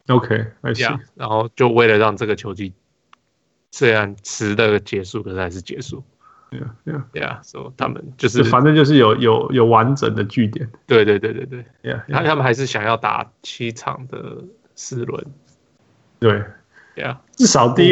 OK，I see。 Yeah， 然後就為了讓這個球季雖然遲的結束，可是還是結束。Yeah，Yeah，Yeah， 所以他們就是反正就是有有有完整的據點。 對對對對對。 Yeah， 他他們還是想要打七場的四輪。 對 ，Yeah， 至少第一輪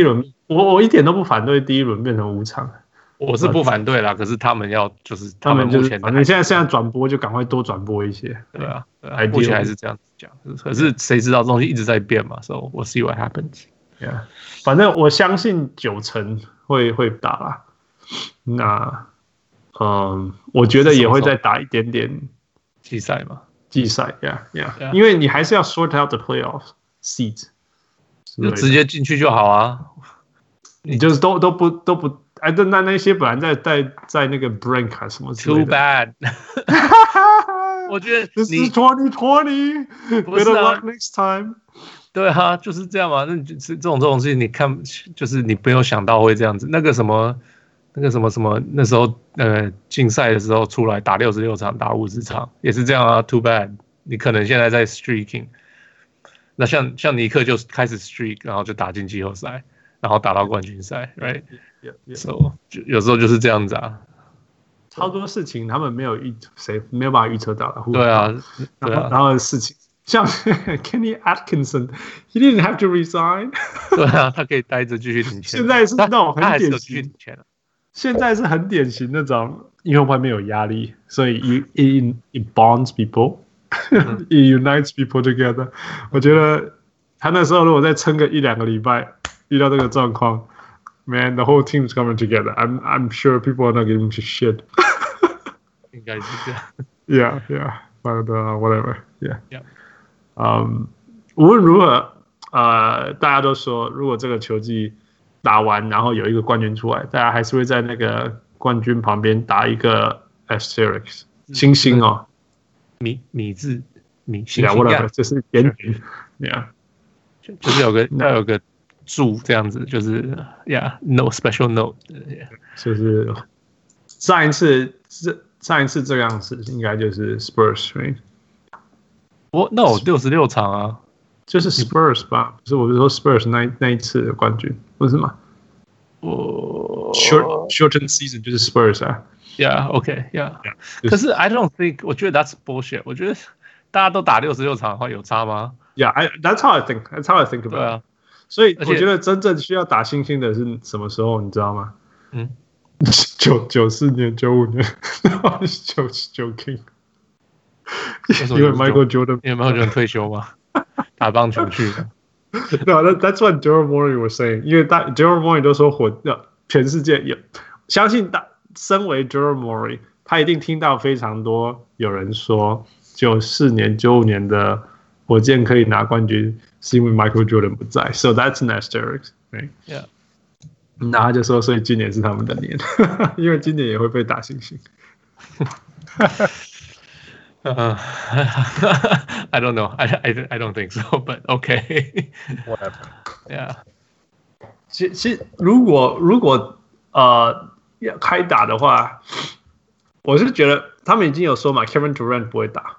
我我一點都不反對第一輪變成五場， 我是不反對啦。可是他們要就是他們目前， 反正現在現在轉播就趕快多轉播一些。 對啊，對啊，目前還是這樣子講。可是誰知道這東西一直在變嘛 ？So we'll see what happens. Yeah， 反正我相信九成會會打啦。那嗯，我覺得也會再打一點點季賽嘛。 季賽 ，Yeah Yeah， 因為你還是要 sort out the playoff seeds。 就直接進去就好啊！ 你就是都都不都不哎，那那那些本來在在在那個 brink 啊什麼之類的 ，too bad 。我覺得你 This is twenty twenty， better luck next time。 對啊，就是這樣嘛。那就是這種這種事情，你看，就是你沒有想到會這樣子。那個什麼，那個什麼什麼，那時候呃競賽的時候出來打六十六場，打五十場也是這樣啊。Too bad， 你可能現在在 streaking。那像像尼克就開始 streak， 然後就打進季後賽，然後打到冠軍賽 ，right？ Yeah, yeah. So 就有時候就是這樣子啊。 超多事情他們沒有預誰沒有辦法預測到的。 對啊，對啊。 然後的事情像 Kenny Atkinson，he didn't have to resign。 對啊，他可以待着繼續領錢。 現在是那種很典型， 現在是很典型那種，因為外面有壓力，所以 it it bonds people。It unites people together。我覺得他那時候如果再撐個一兩個禮拜，遇到這個狀況 ，Man, the whole team's coming together. I'm I'm sure people are not giving a shit. 應該是這樣。 Yeah, yeah, but uh, whatever. Yeah. Yeah. 嗯，無論如何，呃，大家都說，如果這個球季打完，然後有一個冠軍出來，大家還是會在那個冠軍旁邊打一個 asterisk 星星哦。 米米字米星星 ，whatever， 就是點點 ，yeah， 就是有個要有個注這樣子，就是 yeah，no special note，yeah. 就是上一次這上一次這樣子應該就是 Spurs，right？ 我那我六十六場啊， 就是 Spurs 吧？不是，我是說 Spurs 那那一次的冠軍，不是嗎？ 我 short shortened season 就是 Spurs 啊。 Yeah, okay, yeah. yeah. 可是 I don't think， 我覺得 that's bullshit。我觉得大家都打六十六場的話有差嗎 ？Yeah, I, that's how I think. That's how I think about it. 對啊， 所以我覺得真正需要打星星的是什麼時候？你知道嗎？嗯，九九四年、九五年，九九 King。因為 Michael Jordan， 因為 Michael Jordan 退休嘛，打棒球去的。 No, that, that's what Daryl Morey was saying。因為大 Daryl Morey 都說火，全世界有相信大。身為 Daryl Morey， 他一定聽到非常多有人說，九四年、九五年的火箭可以拿冠軍，是因為 Michael Jordan 不在。So that's an asterisk, right? Yeah. 那他就說，所以今年是他們的年，因為今年也會被打星星。 uh, I don't know. I, I, I don't think so, but okay. Whatever. Yeah. 其其如果如果呃。要開打的話，我是覺得他們已經有說嘛 ，Kevin Durant 不會打，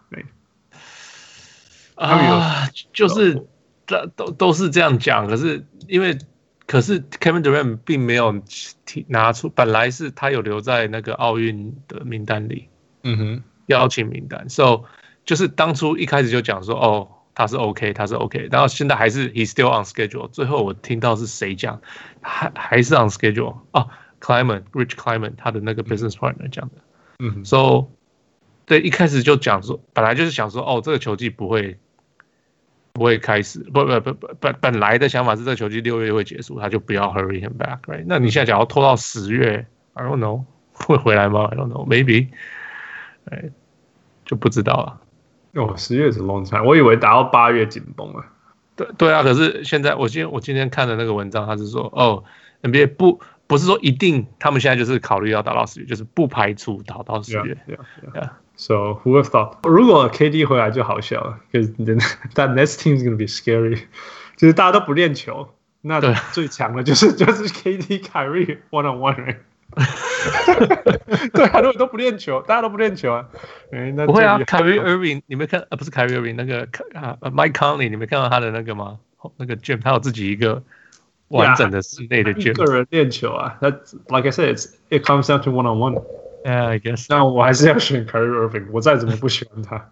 啊，就是都都是這樣講，可是因為可是 Kevin Durant 並沒有拿出，本來是他有留在那個奧運的名單裡，嗯哼，邀請名單 ，so 就是當初一開始就講說，哦，他是 OK， 他是 OK， 然後現在還是 He's still on schedule， 最後我聽到是誰講，還還是 on schedule 哦。Kleiman, Rich Kleiman， 他的那個 business partner 講的，嗯，so 對，一開始就講說，本來就是想說，哦，這個球季不會不會開始，不不不不，本本來的想法是這個球季六月會結束，他就不要 hurry him back，right？ 那你現在講要拖到十月 ，I don't know 會回來嗎 ？I don't know，maybe， 哎，就不知道了。 哦，十月是 long time， 我以為打到八月緊繃了。 對對啊，可是現在我今天我今天看的那個文章，他是說，哦 ，N B A 不。不是說一定，他們現在就是考慮要打到十月，就是不排除打到十月。 Yeah, yeah, yeah. Yeah. So who have thought？ 如果 K D 回來就好笑了 ，because that next team is going to be scary。就是大家都不練球，那最強的就是就是 K D、Kyrie one on one。對啊，如果都不練球，大家都不練球啊。 不會啊 ，Kyrie Irving， 你沒看啊？不是 Kyrie Irving， 那個啊 Mike Conley， 你沒看到他的那個嗎？那個 gym， 他有自己一個。完整的室內的 gym， 一個人練球啊，他 like I said, it's, it comes down to one on one. Yeah, I guess. 那我還是要選 Kyrie Irving， 我再怎麼不喜歡他。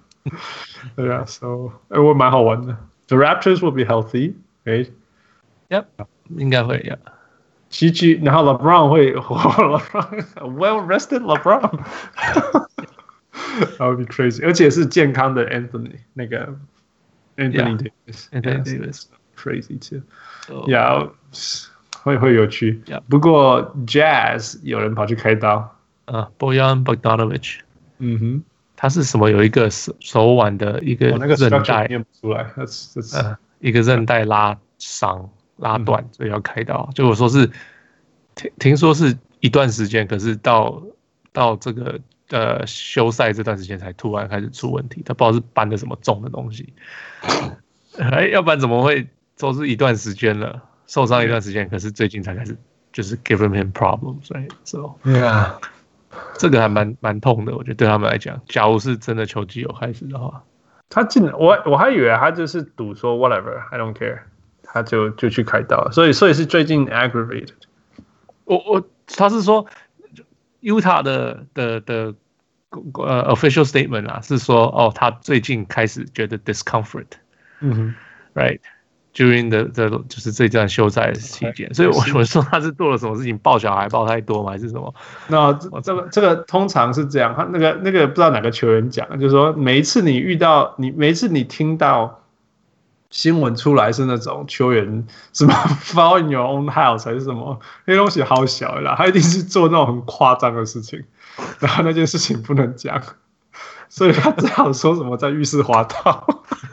對啊 ，so 哎，我蠻好玩的。The Raptors will be healthy, right? ，Yep， 應該會呀。 G G， 然後 LeBron 會 ，LeBron well rested LeBron， that would be crazy， 而且是健康的 Anthony 那個 Anthony Davis，Anthony Davis，crazy too，yeah， 會會有趣。不過 Jazz 有人跑去開刀， 啊 ，Bojan Bogdanovic， 嗯哼， 他是什麼？有一個手手腕的一個韌帶念不出來， 呃，一個韌帶拉傷。拉斷，所以要開刀。就我說是聽聽說是一段時間，可是到到這個呃休賽這段時間才突然開始出問題。他不知道是搬了什麼重的東西，哎，要不然怎麼會都是一段時間了，受傷一段時間，可是最近才開始就是 giving him problems， 所以 so yeah， 這個還蠻蠻痛的，我覺得對他們來講，假如是真的球季有開始的話， 他進我我還以為他就是賭說 whatever，I don't care。他就就去開刀了，所以所以是最近 aggravated。 我我他是說 Utah 的的的呃 official statement 啊，是說哦，他最近開始覺得 discomfort， 嗯哼 ，right during the the 就是這段休賽期間，所以我我說他是做了什麼事情，抱小孩抱太多嗎，還是什麼？ 那這這個這個通常是這樣，他那個那個不知道哪個球員講，就是說每一次你遇到你每一次你聽到。新聞出來是那種球員什麼 fall in your own house 還是什麼，那東西好小啦，他一定是做那種很誇張的事情，然後那件事情不能講，所以他只好說什麼在浴室滑倒。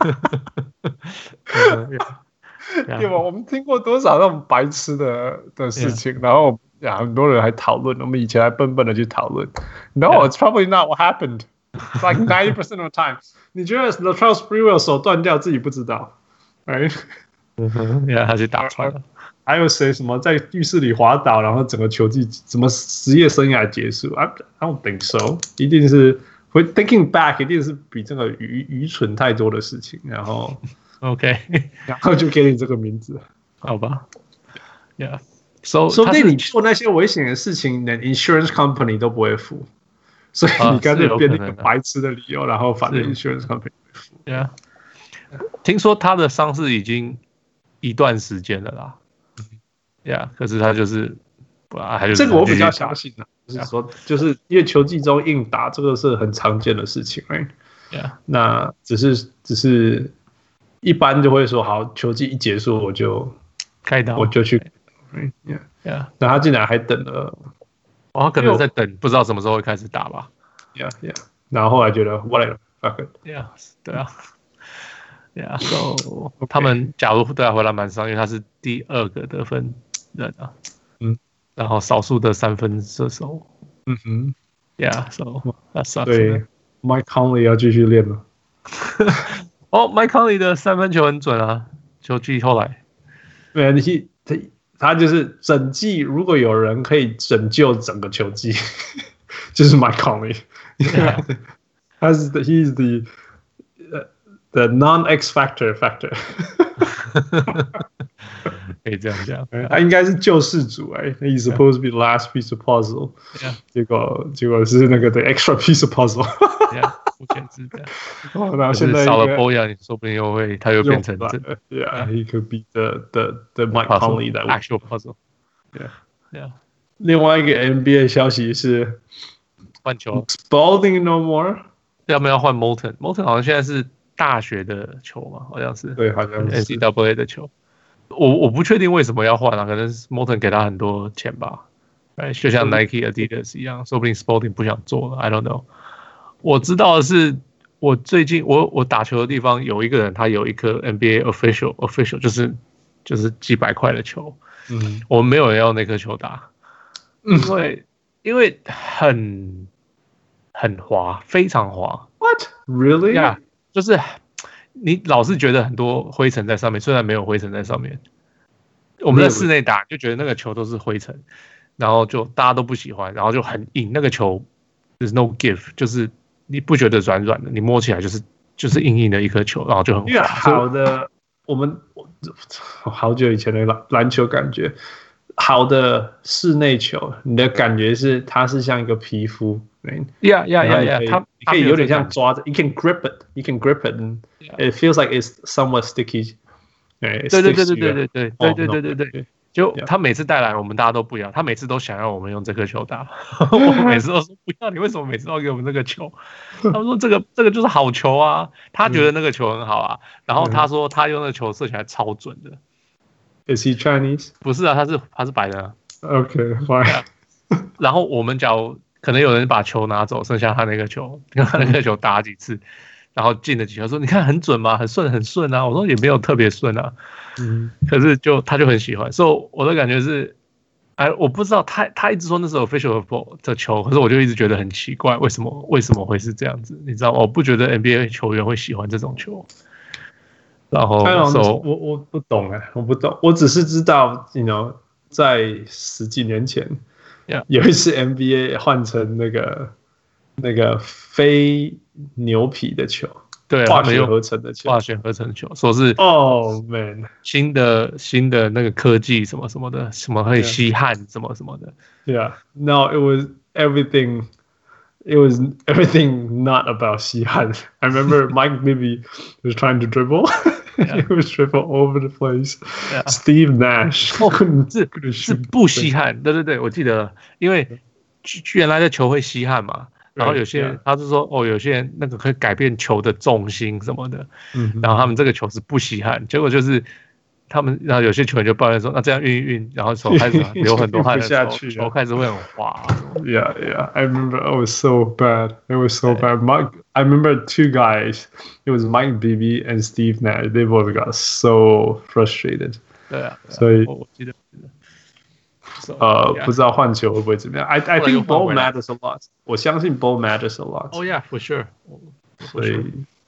對吧？我們聽過多少那種白痴的的事情， yeah. 然後呀，很多人還討論，我們以前還笨笨的去討論。No, it's probably not what happened. It's like ninety percent of the time. 你覺得 Latrell Sprewell 手斷掉自己不知道？哎，嗯哼，呀，他去打穿了。 還有誰什麼在浴室裡滑倒，然後整個球季怎麼職業生涯結束 ？I I don't think so。一定是會 thinking back， 一定是比這個愚愚蠢太多的事情。然後 OK， 然後就給你這個名字， 好吧 ？Yeah，so 說不定你做那些危險的事情，連 insurance company 都不會付，所以你乾脆編一個白痴的理由，然後反正 insurance company 會付。 Yeah。聽說他的傷勢已經一段時間了啦，呀、yeah, ，可是他就是啊，還是這個我比較相信的，就是說，就是因為球季中硬打這個是很常見的事情，哎、 right? ，yeah， 那只是只是一般就會說，好，球季一結束我就開刀， 我就去 ，yeah， yeah， 那他竟然還等了， 哦，他可能在等，不知道什麼時候會開始打吧 ，yeah yeah， 然後後來覺得 whatever，fuck it，yeah， 對啊。Yeah, so okay. 他們假如對他回來蠻傷，因為他是第二個得分人啊，嗯，然後少數的三分射手， 嗯哼 ，Yeah, so that sucks. 對 ，Mike Conley 要繼續練了。 哦、oh, ，Mike Conley 的三分球很準啊，球季後來， 對，他他就是整季，如果有人可以拯救整個球季，就是 Mike Conley， yeah. 他是 he's the。The non-X factor factor， 可以這樣講， 他應該是救世主哎、欸、，He's supposed to be the last piece of puzzle， yeah. 結果結果是那個 the extra piece of puzzle， yeah, 目前是這樣。 哦，然後現在少了 Bojan， 說不定又會他又變成這 ，Yeah, he could be the the the Mike Conley that actual puzzle，Yeah, yeah。另外一個 N B A 消息是換球 ，Spalding no more， 要不要換 Molten？Molten 好像現在是。大學的球嘛，好像是對，好像是 N C double A 的球。我我不確定為什麼要換啊，可能是 Molten 給他很多錢吧，就像 Nike、Adidas 一樣，說不定 Spalding 不想做了 ，I don't know。我知道的是，我最近我我打球的地方有一個人，他有一顆 N B A official official， 就是就是幾百塊的球，嗯，我們沒有人要那顆球打，因為因為很很滑，非常滑。 What really？ Yeah。就是你老是覺得很多灰塵在上面，雖然沒有灰塵在上面。我們在室內打就覺得那個球都是灰塵，然後就大家都不喜歡，然後就很硬。那個球 there's no give， 就是你不覺得軟軟的，你摸起來就是就是硬硬的一顆球，然後就很滑。 好的，我們好久以前的籃籃球感覺，好的室內球，你的感覺是它是像一個皮膚。 Yeah, yeah, yeah, yeah. 它可以有點像抓着 ，you can grip it, you can grip it, and it feels like it's somewhat sticky. 對對对对对对对对对对对对对。就 Yeah. 他每次帶來，我們大家都不一樣。他每次都想要我們用這顆球打，我每次都說不要，你為什麼每次都要給我們這個球？他們說這個這個就是好球啊，他覺得那個球很好啊。然後他說他用那個球射起來超準的。 Is he Chinese? 不是啊，他是他是白人啊。 Okay, fine. 然後我們假如可能有人把球拿走，剩下他那個球，跟他那個球打幾次，然後進了幾球，說你看很準嗎？很順很順啊。我說也沒有特別順啊。嗯，可是就他就很喜歡，所以我的感覺是，哎，我不知道他他一直說那是 official ball 的球，可是我就一直覺得很奇怪，為什麼為什麼會是這樣子？你知道嗎？我不覺得 N B A 球員會喜歡這種球。然後，so, 我我不懂哎，我不懂，我只是知道 ，you know， 在十幾年前， yeah. 有一次 N B A 換成那個那個非牛皮的球。 對， 化學合成的球， 化學合成的球，說是哦 man， 新的新的那個科技什麼什麼的，什麼會吸汗什麼什麼的。 Yeah, no, it was everything. It was everything not about 吸汗. I remember Mike Bibby was trying to dribble. Yeah. He was dribble all over the place. Yeah. Steve Nash 哦，是是不吸汗，對對對，我記得，因為原來的球會吸汗嘛。然後有些人他是說哦，有些人那個可以改變球的重心什麼的，嗯，然後他們這個球是不吸汗，結果就是他們，然後有些球員就抱怨說，那這樣運一運，然後手開始流很多汗的時候，球開始會很滑。 Yeah, yeah. I remember it was so bad. It was so bad. Mike, I remember two guys. It was Mike Bibby and Steve Nash. They both got so frustrated. 對啊， 所以我記得。 呃，不知道換球會不會怎麼樣 ？I I think ball matters a lot. 我相信 ball matters a lot. Oh yeah, for sure. 所以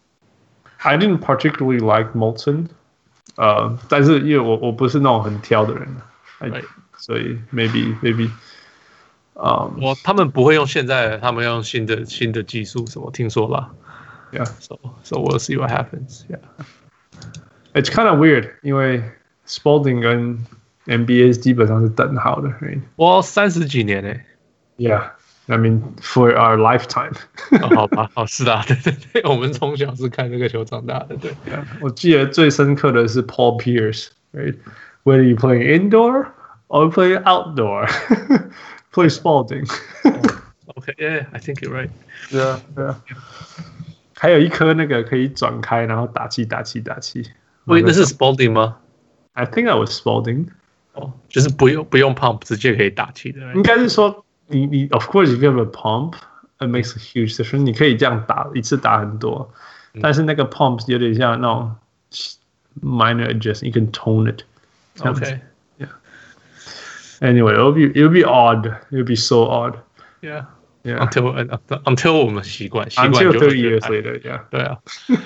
I didn't particularly like Molson. 呃，但是因為我我不是那種很挑的人， right. 所以 maybe maybe. 嗯，我他們不會用現在的，他們用新的新的技術什麼？聽說了。 Yeah. So so we'll see what happens. Yeah. It's kind of weird, 因為 Spalding 跟N B A 基本上是等號的 ，right? 我三十幾年誒。 Yeah, I mean for our lifetime. 哦，好吧，好是啊，對對對，我們從小是看這個球長大的，對。 Yeah, 我記得最深刻的是 Paul Pierce, right? Whether you play indoor or you play outdoor, play Spalding. Okay, yeah, I think you're right. Yeah, yeah. 還有一顆那個可以轉開，然後打氣打氣打氣。 喂，那是 Spalding 嗎 ？I think I was Spalding. 哦，就是不用不用 pump 直接可以打氣的。 應該是說你你 of course if you have a pump, it makes a huge difference. 你可以這樣打一次打很多，嗯、但是那個 pump 有點像那種 minor adjustment, you can tone it. Okay. Yeah. Anyway, it'll be it'll be odd. It'll be so odd. Yeah. Yeah. Until until 我們習慣習慣 Until thirty years later. Yeah. 對啊。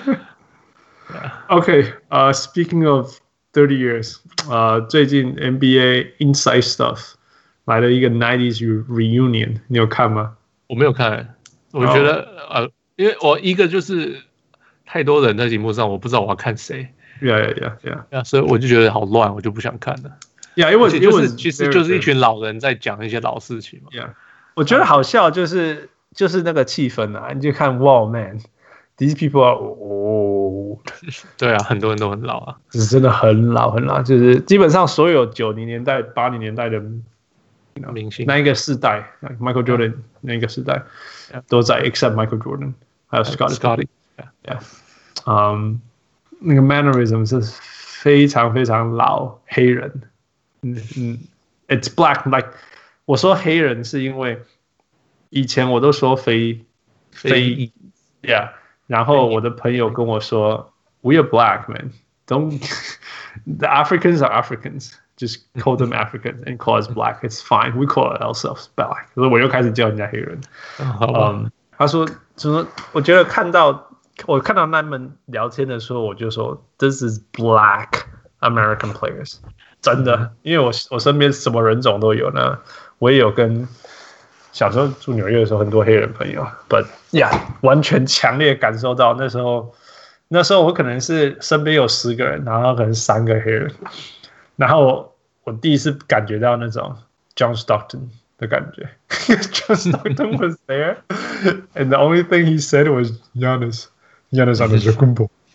Okay. Uh, speaking of thirty years, 呃、uh, 最近 N B A Inside Stuff 來了一個 nineties reunion， 你有看嗎？ 我沒有看，我覺得、oh. 呃，因為我一個就是太多人在節目上，我不知道我要看誰。 Yeah, yeah, yeah, yeah. 所以我就覺得好亂，我就不想看了。 Yeah, 因為就是其實就是一群老人在講一些老事情嘛。 Yeah， 我覺得好笑就是就是那個氣氛啊，你就看 Wow man。These people are old. 對啊，很多人都很老啊， 是真的很老很老，就是基本上所有九零年代、八零年代的明星， 那一個世代 ，Michael Jordan 那一個世代都在 ，except Michael Jordan， 還有 Scottie。Yeah， 嗯，那個 mannerism 是非常非常老黑人。嗯嗯 ，It's black like 我說黑人是因為以前我都說非非 ，Yeah。然後我的朋友跟我說 ，We are black, man. Don't the Africans are Africans. Just call them Africans and call us black. It's fine. We call ourselves black. 所以我又開始叫人家黑人。嗯，他說，就說我覺得看到我看到他們聊天的時候，我就說 ，This is black American players. 真的，因為我我身邊什麼人種都有呢。我也有跟。小時候住紐約的時候，很多黑人朋友 ，But yeah， 完全強烈感受到那時候，那時候我可能是身邊有十個人，然後可能三個黑人，然後 我, 我第一次感覺到那種 John Stockton 的感覺，John Stockton was there, and the only thing he said was Giannis, Giannis Antetokounmpo.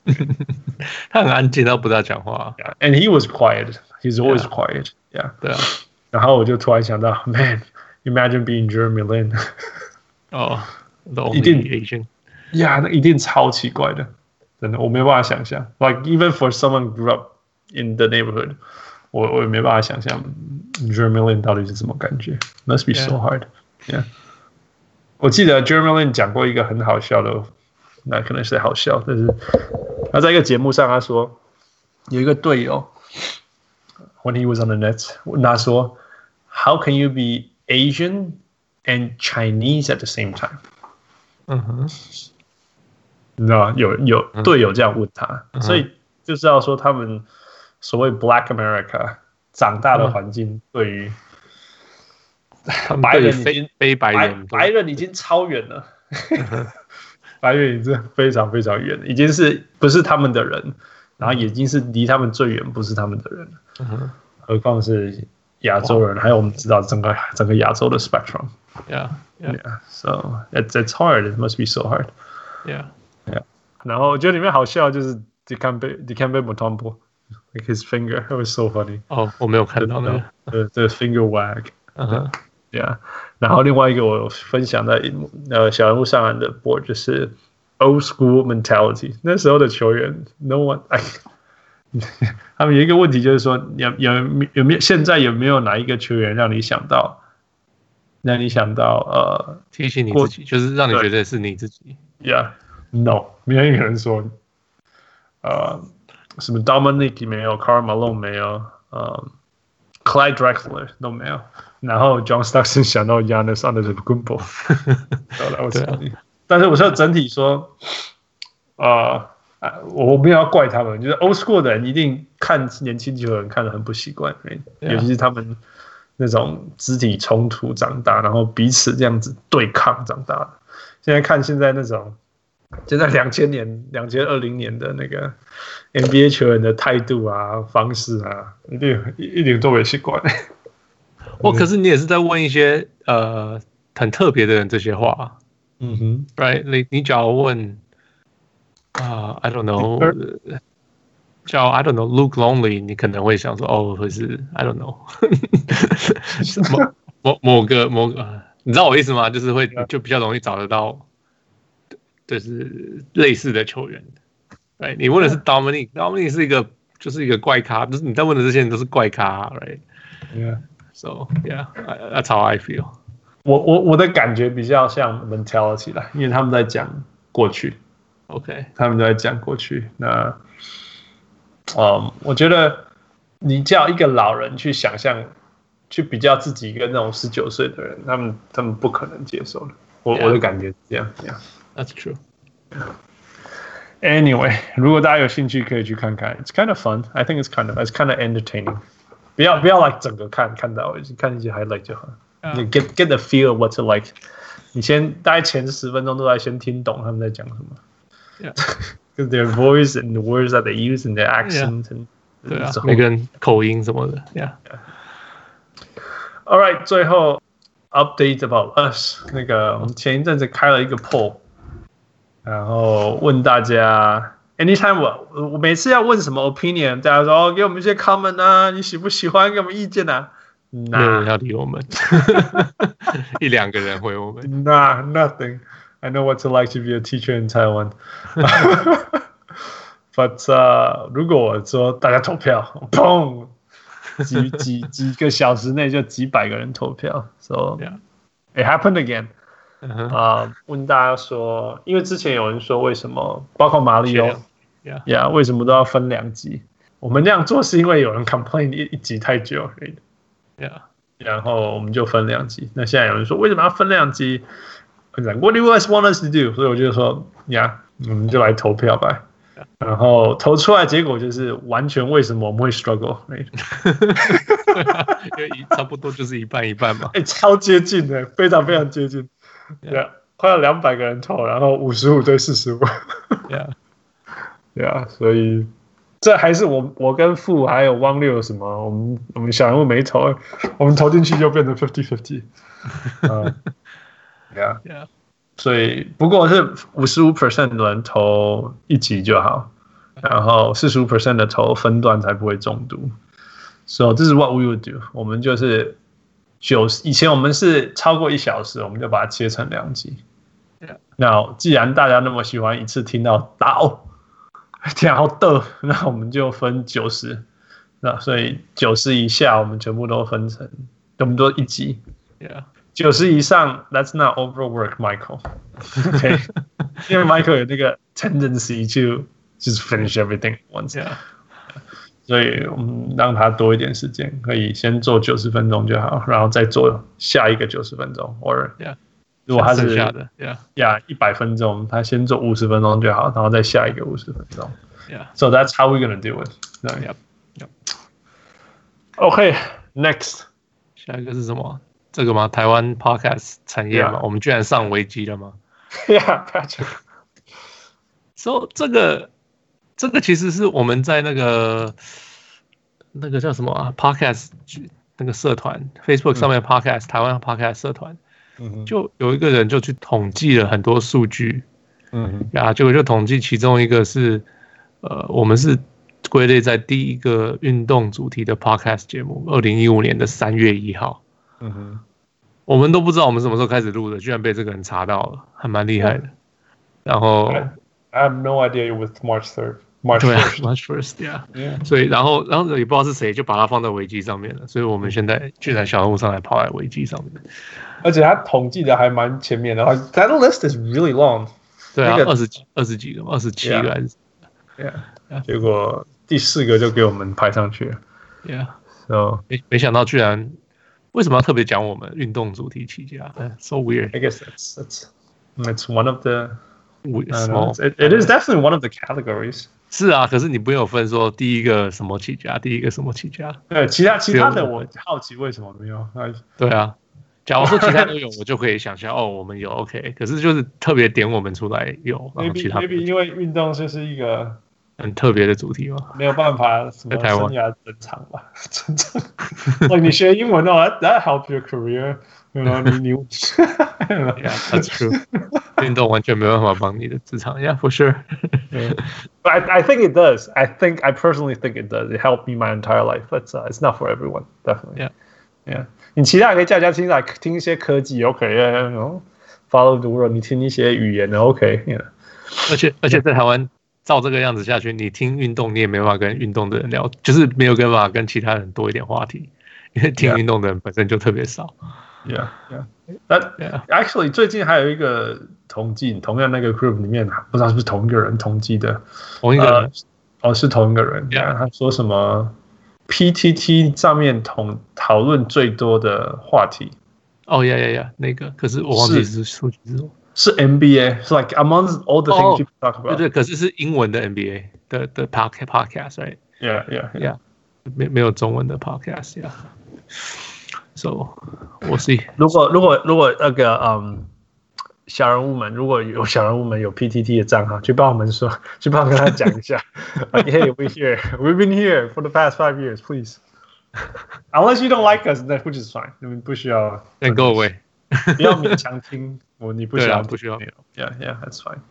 他很安靜，他不大講話。 Yeah, and he was quiet. He's always Yeah. quiet. Yeah. 對啊。 然後我就突然想到 ，Man, imagine being Jeremy Lin. 哦、oh, ，the 一定 only Asian. Yeah, 那一定超奇怪的，真的，我沒辦法想象。Like even for someone grew up in the neighborhood, 我我也沒辦法想象 Jeremy Lin 到底是什麼感覺。Must be so hard. Yeah. 我記得 Jeremy Lin 講過一個很好笑的，那可能是好笑，但是他在一個節目上他說有一個隊友 ，when he was on the Nets， 問他說 ，How can you be Asian and Chinese at the same time？ 嗯哼。 你知道嗎？有有隊友這樣問他，嗯、所以就知道說他們所謂 Black America 長大的環境對於白人已經非白人白白人已經超遠了，白人已經非常非常遠了，已經是不是他們的人，然後已經是離他們最遠不是他們的人了，嗯、何況是亞洲人，還有我們知道整個整個亞洲的 spectrum。 Yeah, yeah. Yeah. So it's it's hard. It must be so hard. Yeah. Yeah. 然後我覺得裡面好笑就是 Dikembe Dikembe Mutombo, like his finger, it was so funny. 哦，我沒有看到那個。 the the finger wag. 嗯哼。 Yeah. 然後另外一個我分享在呃小人物上岸的 board 就是 old school mentality. 那時候的球員 ，no one， 哎，他們有一個問題就是說，有有有沒有現在有沒有哪一個球員讓你想到？讓你想到呃， 提醒你自己，就是讓你覺得是你自己。 Yeah, no， 沒有一個人說，呃，什麼 Dominic 沒有 ，Karl Malone 沒有，呃 ，Clyde Drexler 都沒有，然後 John Stockton 想到 Giannis Antetokounmpo， so that was funny。但是我說整體說，呃，我沒有要怪他們，就是 old school 的人一定看年輕球員看得很不習慣，尤其是他們。那種肢體衝突長大，然後彼此這樣子對抗長大的。現在看現在那種，現在兩千年、兩千二零年的那個 N B A 球員的態度啊、方式啊，一定一點都沒習慣。 哦，可是你也是在問一些呃很特別的人這些話，嗯哼 ，right？ 你你假如問啊、呃、，I don't know。叫 I don't know Luke Longley， 你可能會想說哦，會是 I don't know 某某某個某個，你知道我意思嗎？就是會就比較容易找得到，就是類似的球員。right？ 你問的是 Dominic，Dominic 是一個就是一個怪咖，就是你在問的這些人都是怪咖 ，right？Yeah，so yeah，that's how I feel。 我我我的感覺比較像 mentality 啦，因為他們在講過去 ，OK， 他們都在講過去，那。嗯，我覺得你叫一個老人去想象，去比較自己跟那種十九歲的人，他們他們不可能接受的。我、yeah. 我的感覺是這樣。Yeah. That's true. Anyway， 如果大家有興趣可以去看看 ，It's kind of fun. I think it's kind of it's kind of entertaining. 不要不要 like 整個看看到，看一些 highlight 就好。Yeah. 你 get get the feel of what to like. 你先大概前十分鐘都在先聽懂他們在講什麼。Yeah. Because their voice and the words that they use and their accent yeah. and 對啊，每個人口音什麼的 ，Yeah. All right， 最後 update about us。那個我們前一陣子開了一個 poll， 然後問大家 ，anytime 我我每次要問什麼 opinion， 大家說哦，給我們一些 comment 啊，你喜不喜歡？給我們意見啊。 沒有人要理我們，一兩個人回我們。 Nah, nothing.I know what it's like to be a teacher in Taiwan. But、uh, 如果我說大家投票，砰，幾幾幾個小時內就幾百個人投票 ，so yeah. It happened again. 啊、uh-huh. 呃，問大家說，因為之前有人說為什麼，包括馬里奧 ，Yeah， yeah, 為什麼都要分兩集？我們這樣做是因為有人 complain 一一集太久 ，Yeah， 然後我們就分兩集。那現在有人說為什麼要分兩集？What do you guys want us to do？ 所以我就說呀， yeah, 我們就來投票吧。Yeah. 然後投出來結果就是完全為什麼我們會 struggle？ 對啊，因為差不多就是一半一半嘛。 哎，超接近的，非常非常接近。Yeah，, yeah 快要兩百個人投，然後五十五對四十五。 Yeah， yeah， 所以這還是我我跟傅還有汪六什麼，我們我們小人物沒投，我們投進去就變成 fifty fifty。嗯。Yeah, yeah. 所以不過是五十五 percent 的人投一集就好， 然後四十五 percent 的頭分段才不會中毒。So this is what we would do。我們就是九十，以前我們是超過一小時，我們就把它切成兩集。那既然大家那麼喜歡一次聽到倒，聽到的，那我們就分九十。那所以九十以下，我們全部都分成，我們都一集。 Yeah. 九十以上 ，That's not overwork Michael。OK， 因為 Michael 有那個 tendency to just finish everything once。Yeah. 所以我們讓他多一點時間，可以先做九十分鐘就好，然後再做下一個九十分鐘。或者，如果他是下的 ，Yeah，一百分鐘，他先做五十分鐘就好，然後再下一個五十分鐘。 Yeah，so that's how we're gonna do it. Yep. Yep. Okay, next， 下一個是什麼？這個嗎？台灣 podcast 產業嗎？ Yeah. 我們居然上維基了嗎 ？Yeah, Patrick. So 這個這個其實是我們在那個那個叫什麼啊 ？podcast 那個社團 ，Facebook 上面的 podcast，、嗯、台灣 podcast 社團，嗯、就有一個人就去統計了很多數據，嗯呀，結果就統計其中一個是，呃，我們是。歸類在第一個運動主題的 podcast 節目，二零一五年的三月一號。嗯哼，我們都不知道我們什麼時候開始錄的，居然被這個人查到了，還蠻厲害的。然後 I, I have no idea with March third, March first, March first, yeah. yeah. 所以然後然後也不知道是誰就把它放在維基上面了，所以我們現在居然小人物上來跑來維基上面， 而且他統計的還蠻前面的。That list is really long. 對啊，二十幾二十幾個，二十七個還是 ？Yeah. Yeah. 結果。第四個就給我們排上去了 ，Yeah， so 沒沒想到居然為什麼要特別講我們運動主題起家 ？So weird. I guess that's that's it's one of the small. It, it is definitely one of the categories. 是啊，可是你不用分說第一個什麼起家，第一個什麼起家。 對，其他其他的我好奇為什麼沒有。 對啊，假如說其他都有，我就可以想象哦，我們有 OK。可是就是特別點我們出來有，然後其他 maybe 因為運動就是一個。 很特別的主題嗎？ 沒有辦法，什麼生涯正常吧？正常。like 你學英文哦 that, that help your career， you know, 你你 Yeah, that's true. 運動完全沒辦法幫你的職場 ，Yeah, for sure. yeah. But I, I think it does. I think I personally think it does. It helped me my entire life. But uh, it's not for everyone, definitely. Yeah, yeah. 你其他可以加加聽來聽一些科技 ，OK，you know，follow the world。你聽一些語言的 ，OK，yeah. 而且而且在台灣。照這個樣子下去，你聽運動，你也沒辦法跟運動的人聊，就是沒有辦法跟其他人多一點話題，因為聽運動的人本身就特別少。 Yeah, yeah. That yeah. Actually 最近還有一個統計，同樣那個 group 裡面，不知道是不是同一個人統計的， 同一個人，呃、 哦，是同一個人。Yeah. 他說什麼 P T T 上面討討論最多的話題。 哦呀呀呀，那個，可是我忘記是數據是什麼。 是 N B A， 是 like among all the things people talk about。 對對，可是是英文的 N B A 的的 podcast，right？ Yeah, yeah, yeah。沒沒有中文的 podcast，yeah。So 我 see。如果如果如果那個嗯小人物們，如果有小人物們有 P T T 的賬號，去幫我們說，去幫跟他講一下。like, hey, we're here, we've been here for the past five years, please. Unless you don't like us, then which is fine. 你們不需要。 Then go away. 不要勉強聽，我你不需要， 不需要。 Yeah, yeah, that's fine.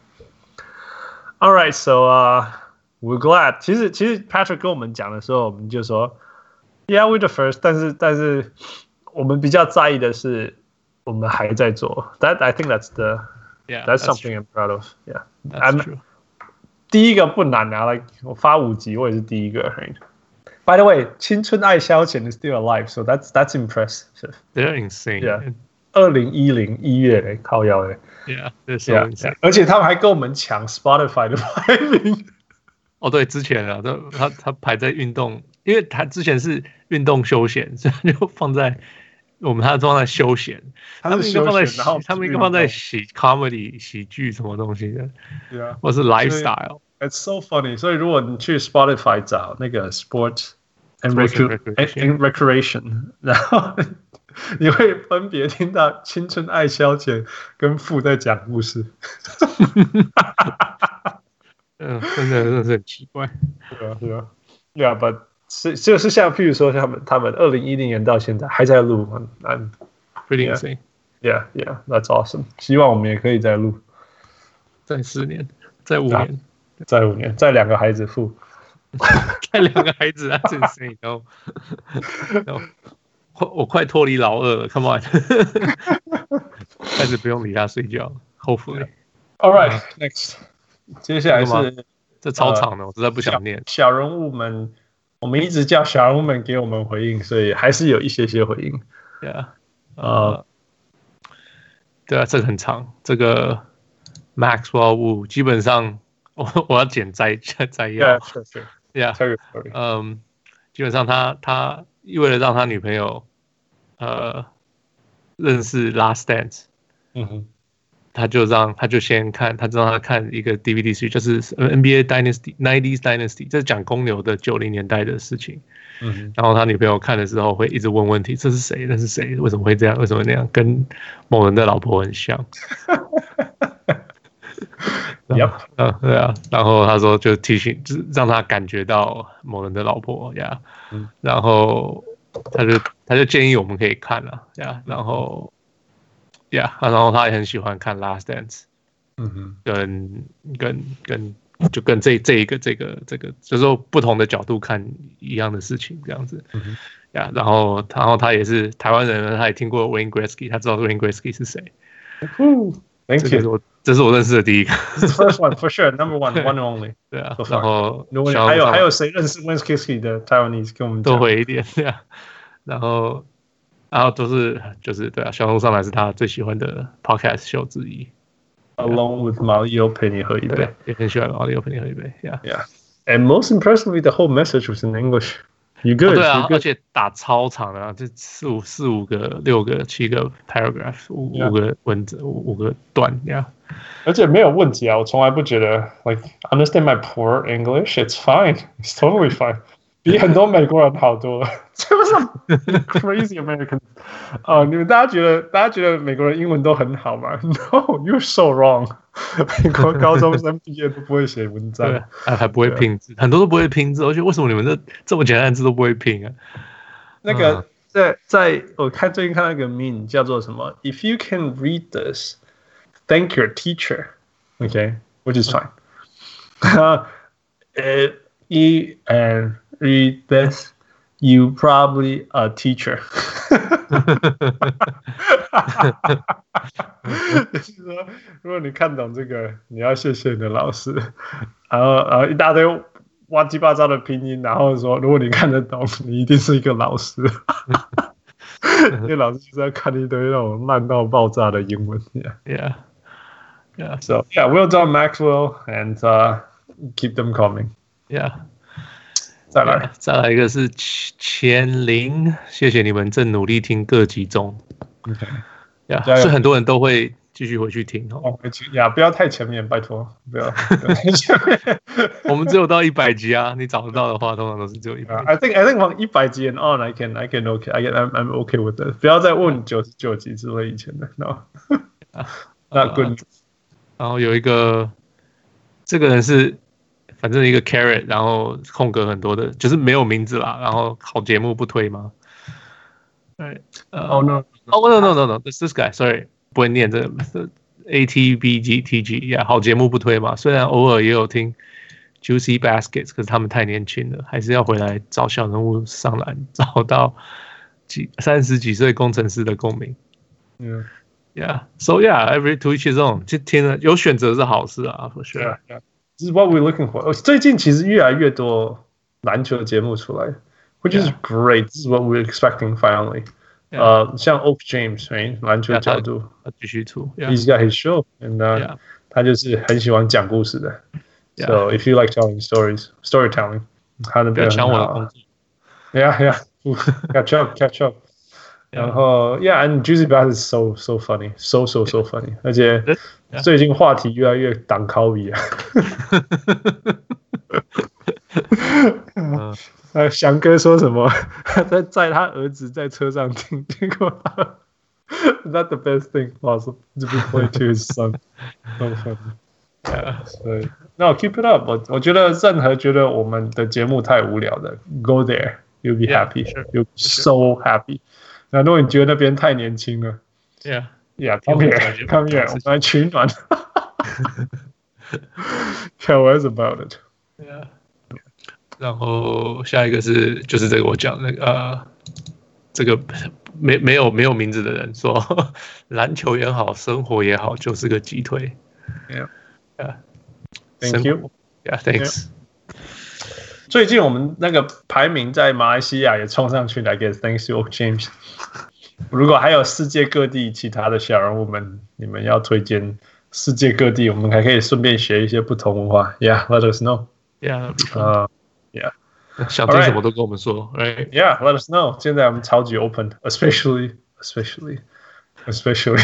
All right, so uh, we're glad. 其實其實 Patrick 跟我們講的時候，我們就說 ，Yeah, we're the first. 但是但是我們比較在意的是，我們還在做。That I think that's the, yeah, that's, that's something true. I'm proud of. Yeah, that's true. 第一個不難啊 ，like 我發五集，我也是第一個。By the way, 青春愛消遣 is still alive, so that's that's impressive. They're insane. Yeah. 二零一零一月嘞，靠腰嘞 ，Yeah， so yeah, 而且他們還跟我們搶 Spotify 的排名。 哦，對，之前啊，他他排在運動，因為他之前是運動休閒，所以就放在我們他放在休閒，他們應該放在喜，他們應該放在喜 comedy 喜劇什麼東西的，對啊，或是 lifestyle。It's so funny， 所以如果你去 Spotify 找那個 Sport and Recreation，, recreation 然後。你會分別聽到青春愛消遣跟父在講故事， 嗯，真的真的是很奇怪， 對啊對啊，對啊，但是就是像譬如說他們他們二零一零年到現在還在錄 ，I'm pretty insane， yeah yeah that's awesome， 希望我們也可以再錄， 再四年，再五年再五年，再兩個孩子付， 再兩個孩子啊，真是你都，我我快脫離老二了 ，Come on， 開始不用理他睡覺 ，Hopefully。All right, next，接下來是這超長的，我實在不想念。 小人物們，我們一直叫小人物們給我們回應，所以還是有一些些回應。 Yeah， 呃，對啊，這個很長，這個 Maxwell Wu 基本上我我要剪摘摘要。 Yeah, sure, sure. Yeah， 嗯，基本上他他為了讓他女朋友呃認識 Last Dance， 嗯哼。他就讓他就先看，他就讓他看一個 D V D 劇，就是 N B A Dynasty nineties Dynasty， 這是講公牛的九零年代的事情。嗯，然後他女朋友看的時候會一直問問題，這是誰？那是誰？為什麼會這樣？為什麼那樣？跟某人的老婆很像。 Yep. 嗯，對啊。然後他說就提醒，就是讓他感覺到某人的老婆呀。Yeah, 嗯，然後他就他就建議我們可以看了呀。Yeah, 然後。Yeah， 然後他也很喜歡看《Last Dance》，嗯哼，跟跟跟就跟這這一個這個這個，就是說不同的角度看一樣的事情這樣子。嗯哼，呀，然後然後他也是台灣人，他也聽過 Wayne Gretzky， 他知道 Wayne Gretzky 是誰。 Thank you， 這是我認識的第一個。 First one for sure, number one, one and only。對啊，然後還有還有誰認識 Wayne Gretzky 的台灣人跟我們多回一點，對啊，然後。然後都是就是對啊，小紅書上來是他最喜歡的 podcast 秀之一 ，Along with 馬里奧陪你喝一杯， 也很喜歡馬里奧陪你喝一杯 ，Yeah, yeah. And most impressively, the whole message was in English. You good?、哦、 對啊， good? 而且打超長的、啊，就四五四五個、六個、七個 paragraph， 五、yeah. 五個文字，五五個段，Yeah。 而且沒有問題啊，我從來不覺得 like understand my poor English, it's fine, it's totally fine. 比很多美國人好多了，这不是 crazy Americans 啊、uh, ！你們大家覺得，大家覺得美國人英文都很好嗎 ？No, you're so wrong 。美國高中生畢業都不會寫文章， 對，還還不會拼字，很多都不會拼字。而且為什麼你們這這麼簡單的字都不會拼啊？ 那個在在我看最近看到一個 meme 叫做什麼 ？If you can read this, thank your teacher. Okay, which is fine. 呃，一 and read this, you probably a teacher. 就是說，如果你看懂這個，你要謝謝你的老師。然後，然後一大堆亂七八糟的拼音，然後說，如果你看得懂，你一定是一個老師。因為老師就是要看一堆那種爛到爆炸的英文。Yeah, yeah, yeah. So yeah, well done, Maxwell, and uh, keep them coming. Yeah. 再來， 再來一個是千零，謝謝你們正努力聽各集中。OK， 呀，所以很多人都會繼續回去聽哦。 呀，不要太前面，拜託，不要，不要太前面。 我們只有到一百集啊，你找得到的話，通常都是只有一百。 I think I think 往一百集 and on, I can I can OK, I can I'm I'm OK with that。不要再問九十九集之類以前的 ，No，Not good。 然後有一個，這個人是。反正一個 carrot， 然後空格很多的，就是沒有名字啦。然後好節目不推嗎？對，呃，哦 no， 哦 no no no no，this this guy，sorry， 不會念這個 A T B G T G， 呀，好節目不推嘛。雖然偶爾也有聽 Juicy Baskets， 可是他們太年輕了，還是要回來找小人物上籃，找到幾三十幾歲工程師的共鳴。嗯 ，Yeah，so yeah，every to each his own， 就聽了有選擇是好事啊 ，for sure。This is what we're looking for. 最近其實越來越多籃球節目出來 ，which is great. This is what we're expecting finally. 呃、uh, ，像 Oak James，right? 籃球角度， 繼續出。 He's got his show, and、uh, yeah. 他就是很喜歡講故事的。Yeah. So if you like telling stories, storytelling， 他那邊很好。不要搶我的工作。Yeah, yeah. Catch up, catch up. 然後 ，Yeah, and Juicy Bass is so so funny, so so so funny. 而且最近話題越來越擋靠比啊。呃，翔哥說什麼？在載他兒子在車上聽，結果他 Not the best thing possible to be played to his son. So funny. Yeah, 所以 No, keep it up. 我我覺得任何覺得我們的節目太無聊的 ，Go there, you'll be happy. Yeah, sure. You'll be so happy. 那如果你覺得那邊太年輕了 ，Yeah, yeah, come here, come here， 我們來取暖。 Tell us about it. Yeah. 然後下一個是就是這個我講那個呃，這個沒沒有沒有名字的人說，籃球也好，生活也好，就是個雞腿。 Yeah. Yeah. Thank you. Yeah. Thanks. Yeah. 最近我們那個排名在馬來西亞也衝上去了 ，I guess thanks to James. 如果還有世界各地其他的小人物們，你們要推薦世界各地，我們還可以順便學一些不同文化。Yeah, let us know. Yeah. 呃、uh,，Yeah. 想聽什麼都跟我們說 ，Right? Yeah, let us know. 現在我們超級 open, especially, especially, especially.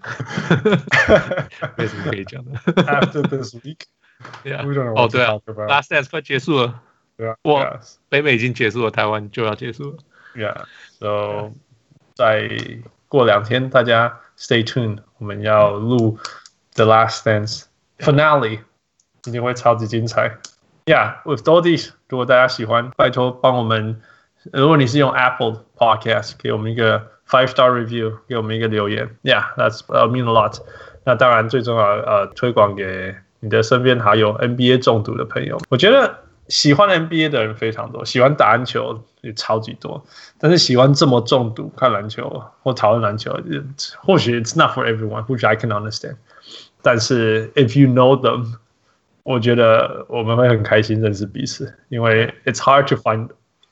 沒什麼可以講的。 After this week, yeah. we don't know 哦 what to 對啊 talk about. Last Dance 快結束了。 對啊， 哇，北美已經結束了，台灣就要結束了。 Yeah, so 再過兩天，大家 stay tuned. 我們要錄 The Last Dance Finale， 一定會超級精彩。Yeah, with all these， 如果大家喜歡，拜託幫我們。如果你是用 Apple Podcast， 給我們一個 five star review， 給我們一個留言。Yeah, that's uh, mean a lot. 那當然最重要，呃，推廣給你的身邊還有 N B A 中毒的朋友。我覺得喜歡 N B A 的人非常多，喜歡打籃球也超級多。但是喜歡這麼中毒看籃球或討論籃球，或許 it's not for everyone, which I can understand. 但是 if you know them， 我覺得我們會很開心認識彼此，因為 it's hard to find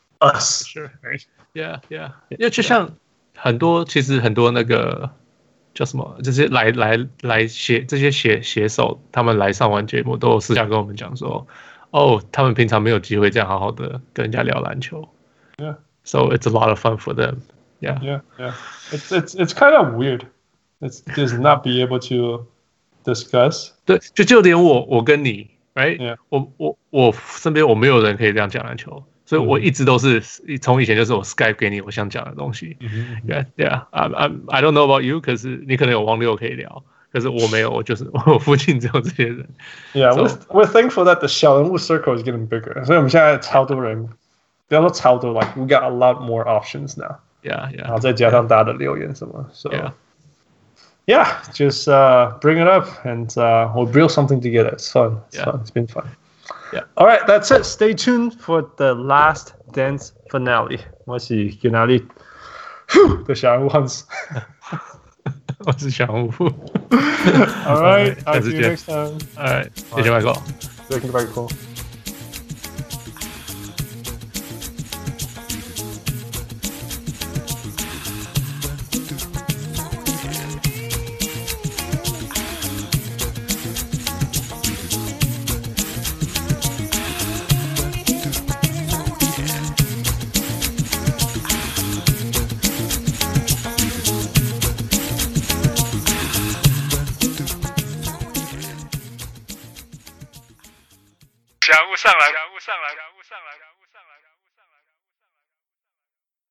us. Sure. Yeah, yeah. 因為就像很多，其實很多那個叫什麼，這些來來來寫這些寫寫手，他們來上完節目都有私下跟我們講說，哦，他們平常沒有機會這樣好好的跟人家聊籃球。 Yeah. So it's a lot of fun for them. Yeah. Yeah, yeah. It's it's it's kind of weird. It's just not be able to discuss. 對，就就連我我跟你 ，right？、 Yeah. 我我我身邊我沒有人可以這樣講籃球。所以我一直都是從以前就是我 Skype 給你我想講的東西。 Mm-hmm. Yeah, yeah. I I I don't know about you， 可是你可能有王六可以聊，可是我沒有，我就是我附近只有這些人。 Yeah, so, we're we're thankful that the 小人物 circle is getting bigger. 所以我們現在超多人，不要說超多 ，like we got a lot more options now. Yeah, yeah. 然後再加上大家的留言什麼 ，so yeah, yeah, just uh, bring it up and uh, we'll build something together. It's fun. It's yeah. fun. It's been fun. Yeah. All right, that's it. Stay tuned for the Last Dance finale. 我是去哪裡的小人物 Hans. 我是小人物。 All right, I'll see you next time. All right, 謝謝 Michael. 謝謝 Michael. 小人物上來，小人物上來，小人物上來，小人物上來。